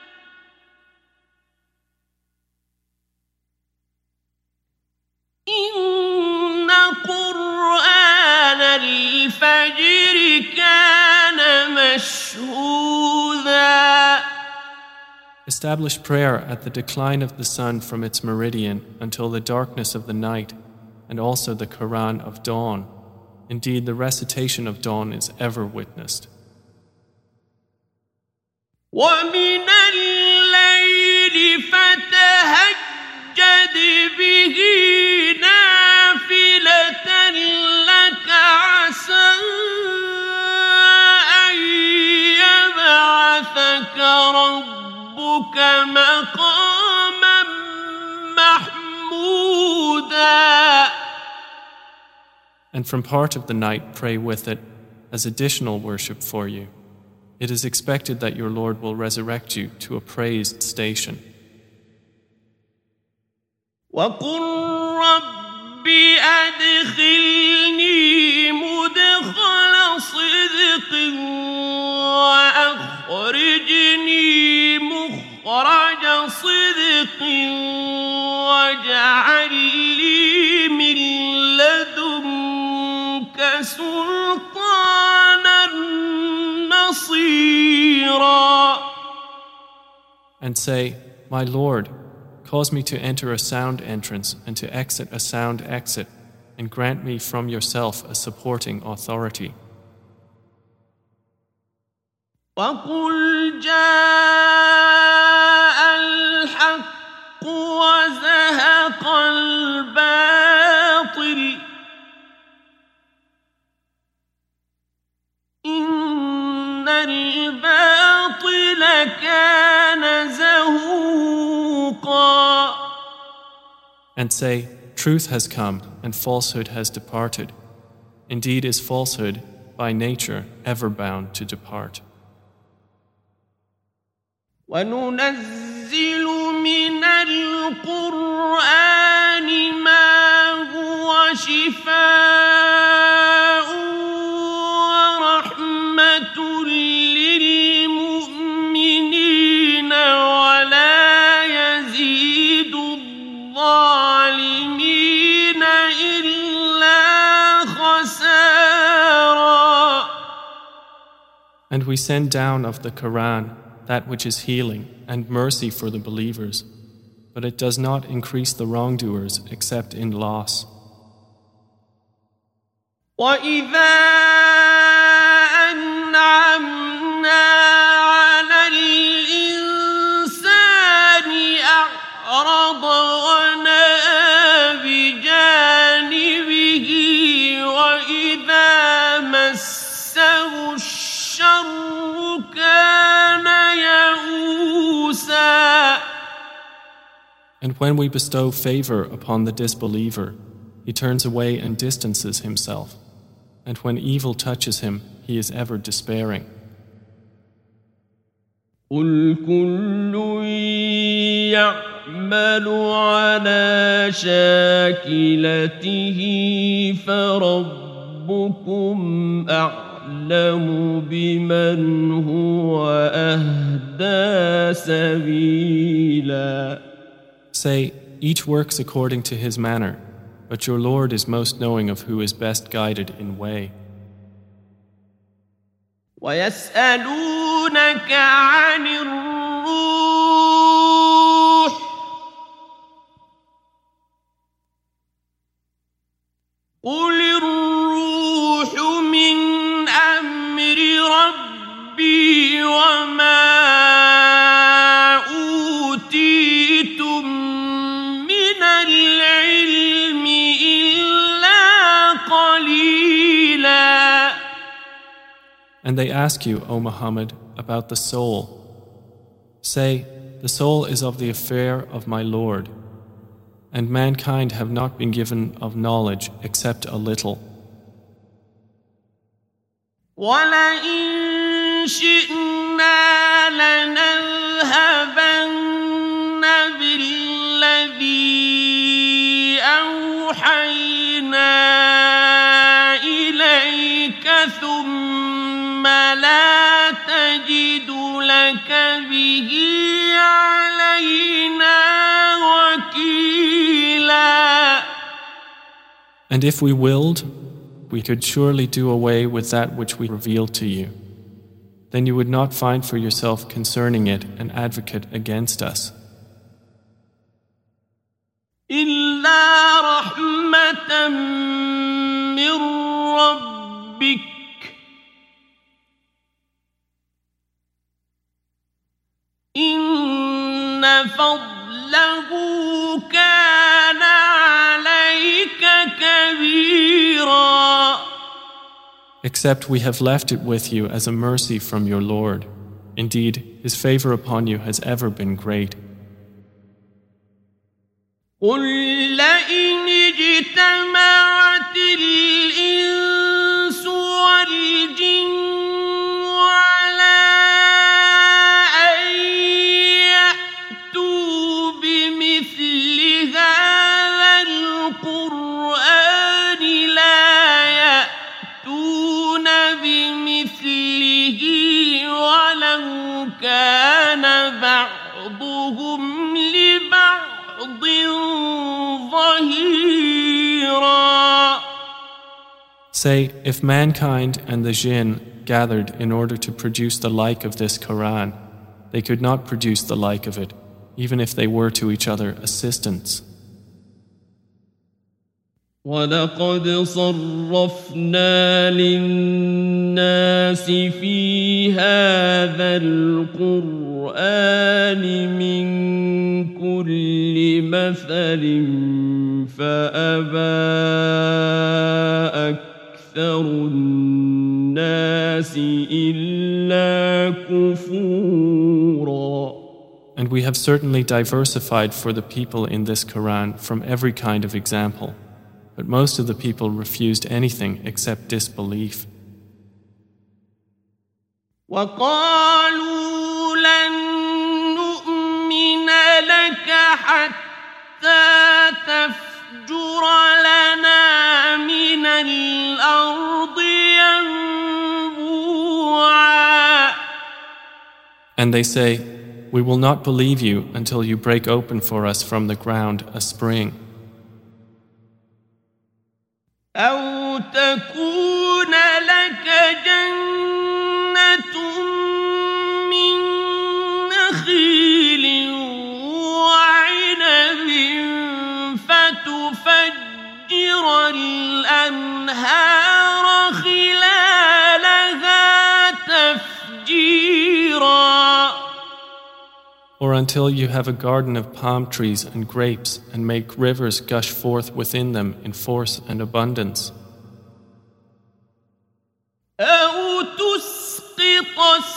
إن قرآن الفجر كان مشهودا. Establish prayer at the decline of the sun from its meridian until the darkness of the night, and also the Quran of dawn. Indeed, the recitation of dawn is ever witnessed. ومن الليل فتهجد به نافلة لك عسى أن يبعثك ربك مقاما محمودا. And from part of the night pray with it as additional worship for you. It is expected that your Lord will resurrect you to a praised station. وَقُلْ رَبِّ أَدْخِلْنِي مُدْخَلَ صِدْقٍ وَأَخْرِجْنِي مُخْرَجَ صِدْقٍ وَاجْعَل لِّي مِن لَّدُنكَ سُلْطَانًا نَّصِيرًا. And say, My Lord, cause me to enter a sound entrance and to exit a sound exit, and grant me from yourself a supporting authority. وَقُلْ جَاءَ الْحَقُّ وَزَهَقَ الْبَاطِلُ إِنَّ الْبَاطِلَ كَانَ زَهُوقًا. And say, Truth has come and falsehood has departed. Indeed is falsehood by nature ever bound to depart. وَنُنَزِّلُ مِنَ الْقُرْآنِ مَا هُوَ شِفَاءٌ وَرَحْمَةٌ لِّلْمُؤْمِنِينَ وَلَا يَزِيدُ الظَّالِمِينَ إِلَّا خَسَارًا. And we send down of the Quran that which is healing and mercy for the believers, but it does not increase the wrongdoers except in loss. وَإِذَا أَنْعَمْنَا عَلَى الْإِنسَانِ أَعْرَضَ وَنَأَىٰ بِجَانِبِهِ وَإِذَا مَسَّهُ الشَّرُّ كَانَ يَئُوسًا. And when we bestow favor upon the disbeliever, he turns away and distances himself. And when evil touches him, he is ever despairing. قُلْ كُلٌّ يَعْمَلُ عَلَى شَاكِلَتِهِ فَرَبُّكُمْ أَعْلَمُ بِمَنْ هُوَ أَهْدَىٰ سَبِيلًا. Say, each works according to his manner, but your Lord is most knowing of who is best guided in way. وَيَسْأَلُونَكَ عَنِ الرُّوحِ قُلِ الرُّوحُ مِنْ أَمْرِ رَبِّي وَمَا أُوتِيتُم مِّنَ الْعِلْمِ إِلَّا قَلِيلًا. And they ask you, O Muhammad, about the soul. Say, the soul is of the affair of my Lord, and mankind have not been given of knowledge except a little. وَلَئِن شِئْنَا لَنَذْهَبَنَّ بِالَّذِي أَوْحَيْنَا إِلَيْكَ ثُمَّ لَا تَجِدُ لَكَ بِهِ عَلَيْنَا وَكِيلًا. And if we willed, we could surely do away with that which we revealed to you. Then you would not find for yourself concerning it an advocate against us. إِلَّا رَحْمَةً مِّن رَّبِّكَ. ربك. فضله كان عليك كبيرا. Except we have left it with you as a mercy from your Lord. Indeed, His favor upon you has ever been great. قل لئن اجتمعت الإنس والجن على أن يأتوا بمثل هذا القرآن لا يأتون بمثله ولو كان بعضهم لبعض ظهيرا. Say, if mankind and the jinn gathered in order to produce the like of this Quran, they could not produce the like of it, even if they were to each other assistants. وَلَقَدْ صَرَّفْنَا لِلنَّاسِ فِي هَذَا الْقُرْآنِ مِنْ كُلِّ مَثَلٍ فَأَبَى أَكْثَرُ النَّاسِ إِلَّا كُفُورًا. And we have certainly diversified for the people in this Quran from every kind of example. But most of the people refused anything except disbelief. وَقَالُوا لَن نُّؤْمِنَ لَكَ حَتَّى تَفْجُرَ لَنَا مِنَ الْأَرْضِ يَنبُوعًا. And they say, we will not believe you until you break open for us from the ground a spring. أَوْ تَكُونَ لَكَ جَنَّةٌ مِّن نَّخِيلٍ وَعِنَبٍ فَتُفَجِّرَ الْأَنْهَارَ خِلَالَهَا تَفْجِيرًا. Or until you have a garden of palm trees and grapes and make rivers gush forth within them in force and abundance. أَوْ تُسْقِطَ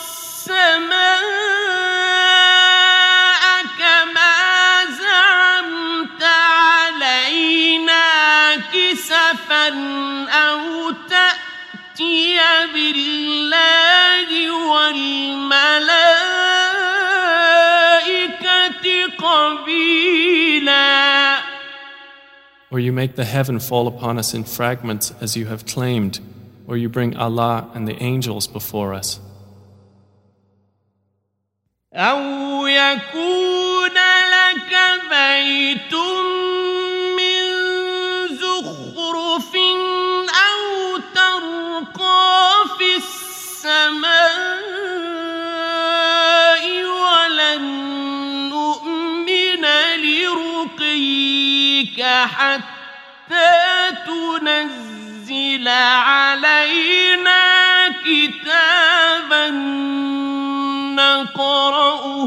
السَّمَاءَ كَمَا زَعَمْتَ عَلَيْنَا كِسَفًا أَوْ تَأْتِيَ بِاللَّهِ وَالْمَلَائِكَةِ قَبِيلًا. Or you make the heaven fall upon us in fragments as you have claimed, or you bring Allah and the angels before us. أَوْ يَكُونَ لَكَ بَيْتٌ مِّن زُخْرُفٍ أَوْ تَرْقَىٰ فِي السَّمَاءِ وَلَن نُّؤْمِنَ لِرُقِيِّكَ حَتَّىٰ تُنَزِّلَ عَلَيْنَا كِتَابًا نقرأه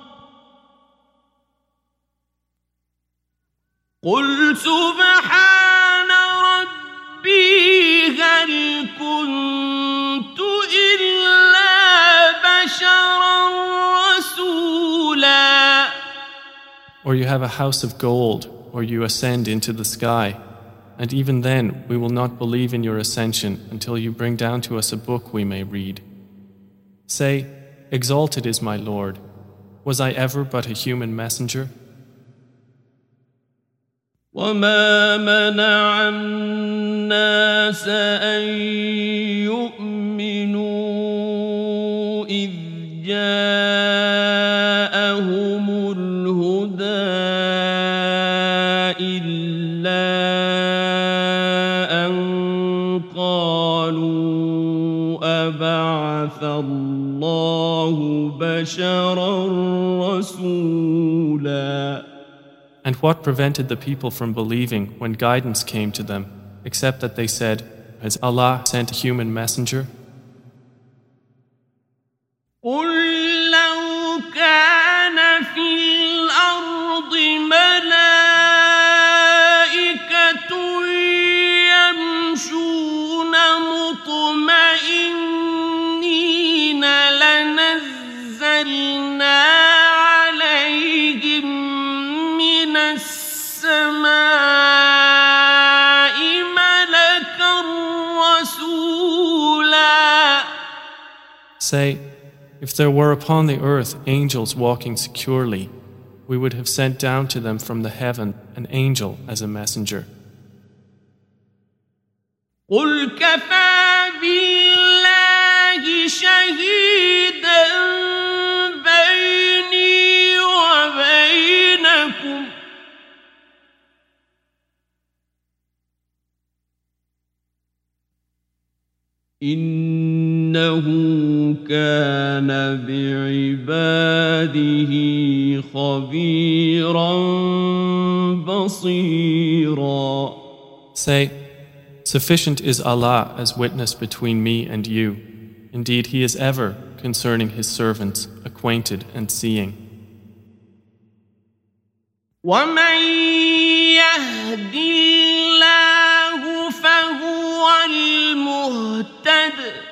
قل سبحان ربي هل كنت إلا بشرا رسولا. Or you have a house of gold, or you ascend into the sky, and even then we will not believe in your ascension until you bring down to us a book we may read. Say, exalted is my Lord. Was I ever but a human messenger? وَمَا مَنَعَ النَّاسَ أَن يُؤْمِنُوا إِذْ جَاءَهُمُ الْهُدَىٰ إِلَّا أَن قَالُوا أَبَعَثَ اللَّهُ بَشَرًا رَّسُولًا. And what prevented the people from believing when guidance came to them, except that they said, has Allah sent a human messenger? قُل لَّوْ كَانَ فِي Say, if there were upon the earth angels walking securely, we would have sent down to them from the heaven an angel as a messenger. قل كفى بالله شهيدا بيني وبينكم إنه كان بعباده خبيرا بصيرا. Say, sufficient is Allah as witness between me and you. Indeed, He is ever, concerning His servants, acquainted and seeing. وَمَن يَهْدِ اللَّهُ فَهُوَ الْمُهْتَدِ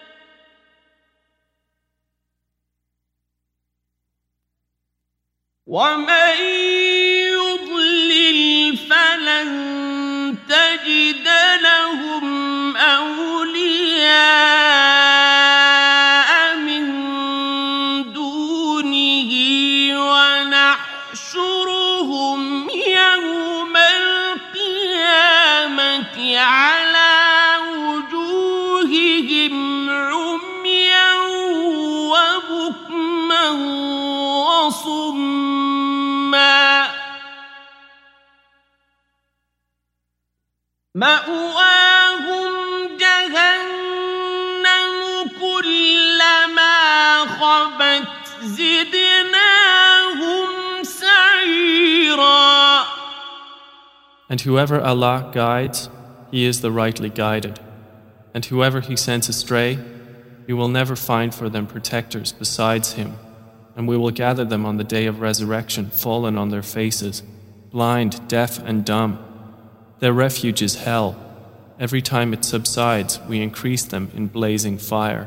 وَمَن يُضْلِلْ فَلَن تَجِدَ لَهُمْ أَوْلِيَاءَ مِن دُونِهِ وَنَحْشُرُهُمْ يَوْمَ الْقِيَامَةِ عَلَى وُجُوهِهِمْ عُمْيًا وَبُكْمًا وَصُمًّا مَأْوَاهُمْ جَهَنَّمُ كُلَّمَا خَبَتْ زِدْنَاهُمْ سَعِيرًا. And whoever Allah guides, he is the rightly guided. And whoever He sends astray, He will never find for them protectors besides Him. And we will gather them on the day of resurrection, fallen on their faces, blind, deaf, and dumb. Their refuge is hell. Every time it subsides, we increase them in blazing fire.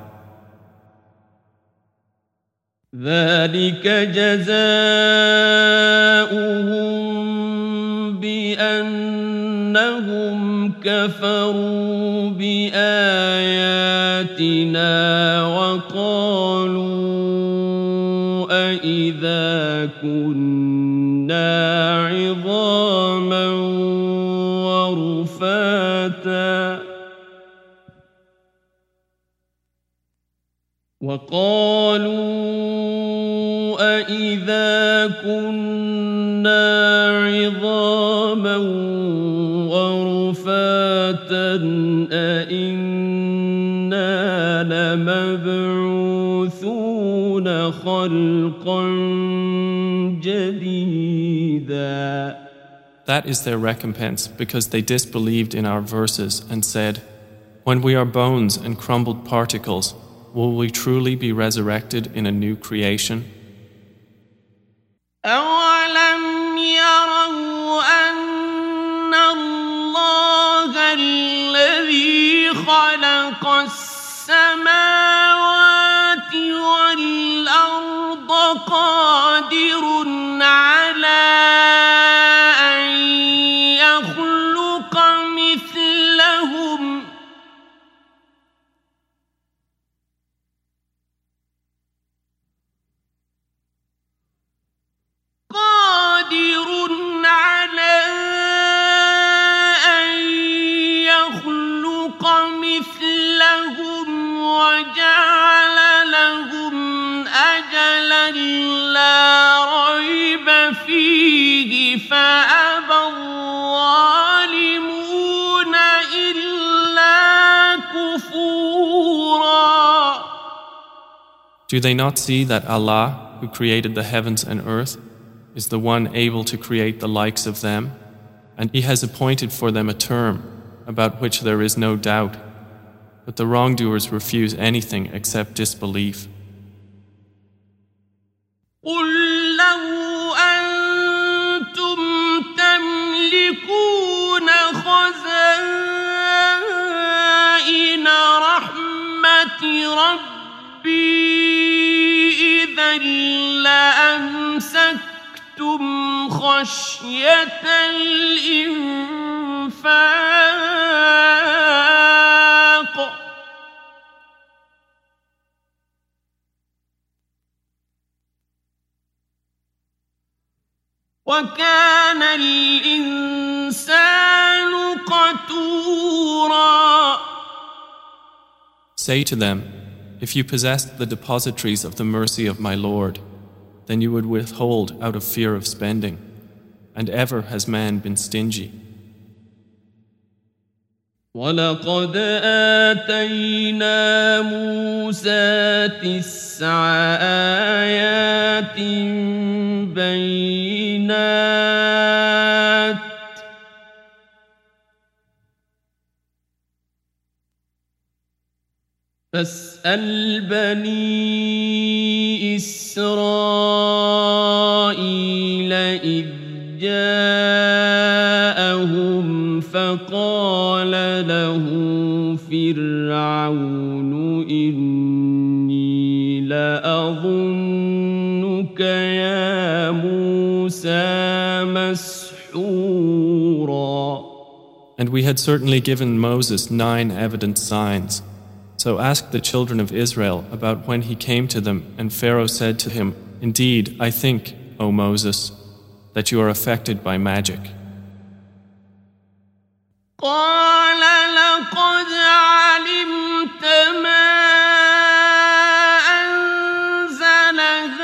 ذلك جزاؤهم بأنهم كفروا بآياتنا وقالوا أإذا كنا عظاما ورفاتا وقالوا أإذا كنا عظاما ورفاتا أإنا لمبعوثون خلقا جديدا. That is their recompense, because they disbelieved in our verses and said, when we are bones and crumbled particles, will we truly be resurrected in a new creation? أَوَلَمْ يَرَوْا أَنَّ اللَّهَ الَّذِي خَلَقَ السَّمَاوَاتِ وَالْأَرْضَ قَادِرٌ عَلَىٰ أَن يَخْلُقَ مِثْلَهُمْ قادر على أن يخلق مثلهم وجعل لهم أجلا لا ريب فيه فأبى الظالمون إلا كفورا. Do they not see that Allah, who created the heavens and earth, is the one able to create the likes of them, and He has appointed for them a term about which there is no doubt, but the wrongdoers refuse anything except disbelief. قُلْ لَوْ أَنْتُمْ تَمْلِكُونَ خَزَائِنَ رَحْمَةِ رَبِّي إِذًا لَأَمْسَكْتُمْ خشية الإنفاق وكان الإنسان قتورا. Say to them, if you possessed the depositories of the mercy of my Lord, then you would withhold out of fear of spending, and ever has man been stingy. وَلَقَدْ آتَيْنَا مُوسَى تِسْعَ آيَاتٍ بَيِّنَاتٍ فاسأل بني إسرائيل إذ جاءهم فقال له فرعون إني لأظنك يا موسى مسحورا. And we had certainly given Moses nine evident signs. So ask the children of Israel about when he came to them, and Pharaoh said to him, Indeed, I think, O Moses, that you are affected by magic. قال لقد علمت ما أنزل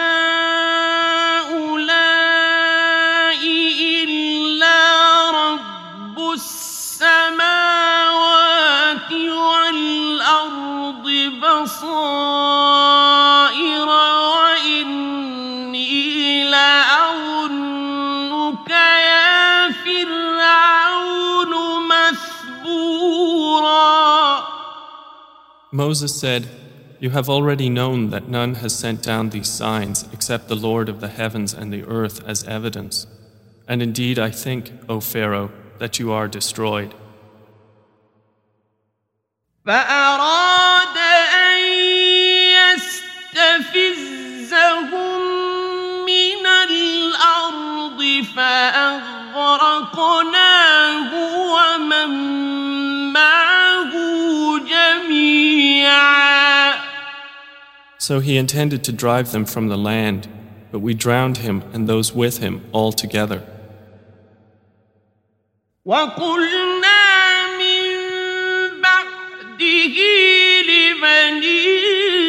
هؤلاء إلا رب السماوات والأرض بصائر وإني لأظنك يا فرعون مثبورا. Moses said, You have already known that none has sent down these signs except the Lord of the heavens and the earth as evidence. And indeed I think, O Pharaoh, that you are destroyed. فأراد أن يستفزهم من الأرض فأغرقناه ومن معه جميعا. So he intended to drive them from the land, but we drowned him and those with him all together. وقلنا من بعده لبني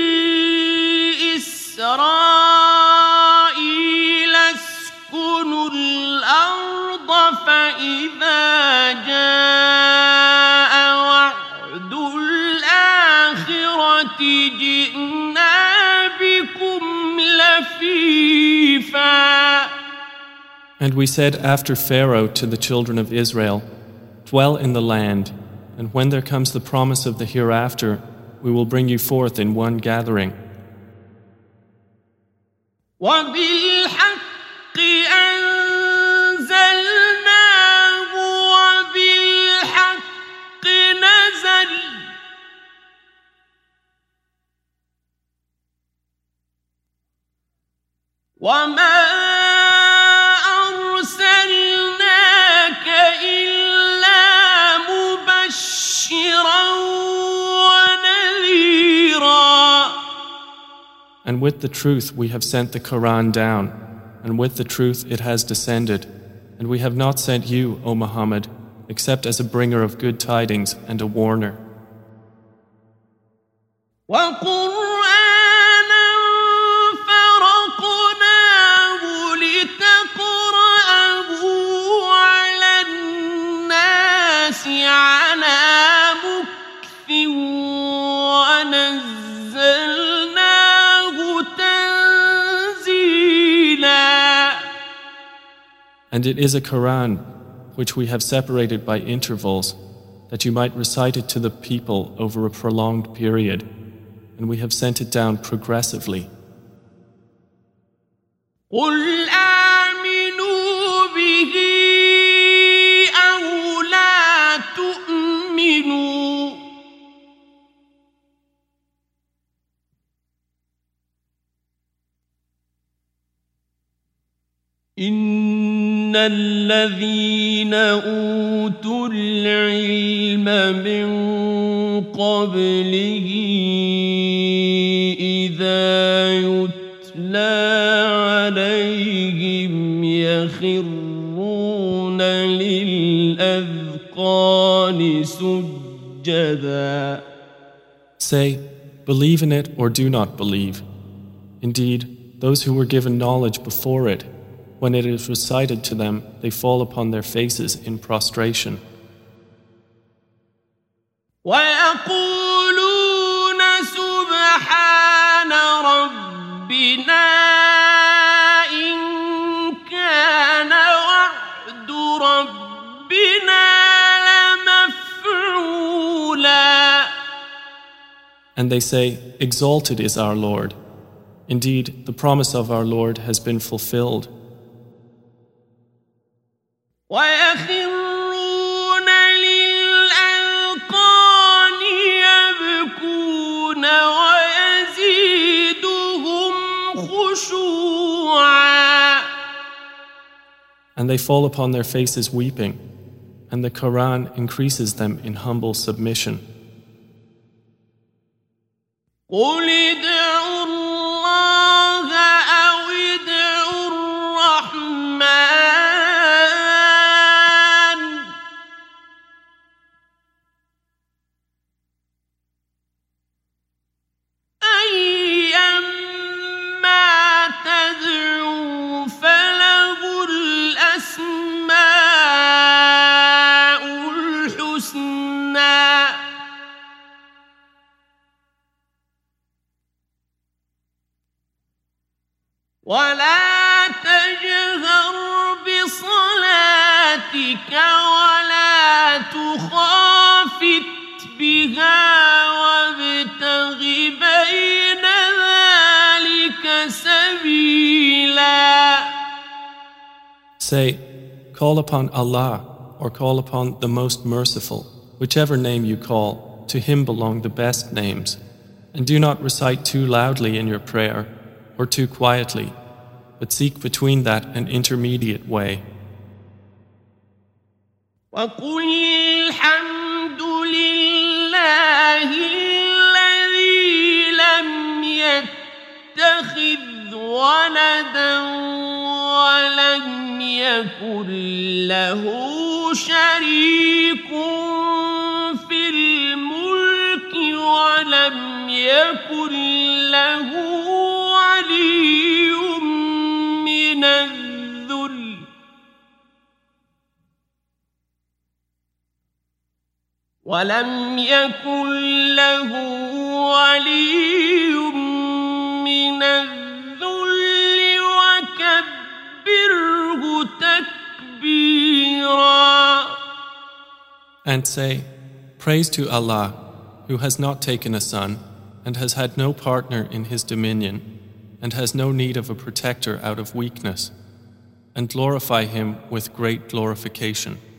إسرائيل اسكنوا الأرض فإذا جاء وعد الآخرة جئنا بكم لفيفا. And we said after Pharaoh to the children of Israel, Dwell in the land, and when there comes the promise of the hereafter, we will bring you forth in one gathering. وبالحق أنزلناه وبالحق نزل وما أرسلناك إلا مبشرا ونذيرا. And with the truth we have sent the Quran down, and with the truth it has descended, and we have not sent you, O Muhammad, except as a bringer of good tidings and a warner. وقرآنا فرقناه لتقرأه على الناس على مكث ونزلناه تنزيلا. And it is a Quran which we have separated by intervals, that you might recite it to the people over a prolonged period, and we have sent it down progressively. قل آمنوا به أو لا تؤمنوا إن الذين أوتوا العلم من قبله إذا يتلى عليهم يخرون ويخرون للأذقان سجدا. Say, believe in it or do not believe. Indeed, those who were given knowledge before it, when it is recited to them, they fall upon their faces in prostration. وَيَقُولُونَ سُبْحَانَ رَبِّنَا إِن كَانَ وَعْدُ رَبِّنَا لَمَفْعُولًا. And they say, exalted is our Lord. Indeed, the promise of our Lord has been fulfilled. وَيَخِرُّونَ لِلْأَذْقَانِ يَبْكُونَ وَيَزِيدُهُمْ خُشُوعًا. And they fall upon their faces weeping, and the Quran increases them in humble submission. قُلِ ادْعُوا اللَّهَ أَوِ ادْعُوا الرَّحْمَٰنَ أَيًّمَّا تَدْعُوا فَلَهُ الْأَسْمَاءُ الْحُسْنَىٰ وَلَا تَجْهَرْ بِصَلَاتِكَ وَلَا تُخَافِتْ بِهَا وَابْتَغِ بَيْنَ ذَلِكَ سَبِيلًا. Say, call upon Allah or call upon the Most Merciful, whichever name you call, to Him belong the best names, and do not recite too loudly in your prayer or too quietly, but seek between that an intermediate way. وَقُلِ الْحَمْدُ لِلَّهِ الَّذِي لَمْ يَتَّخِذْ وَلَدًا وَلَمْ يَكُنْ لَهُ شَرِيكٌ فِي الْمُلْكِ وَلَمْ يَكُنْ لَهُ وَلِيٌّ مِّنَ الذُّلِّ وَلَمْ يَكُنْ لَهُ وَلِيٌّ مِّنَ الذُّلِّ وَكَبِّرْهُ تَكْبِيرًا. And say, praise to Allah, who has not taken a son, and has had no partner in His dominion, and has no need of a protector out of weakness, and glorify Him with great glorification.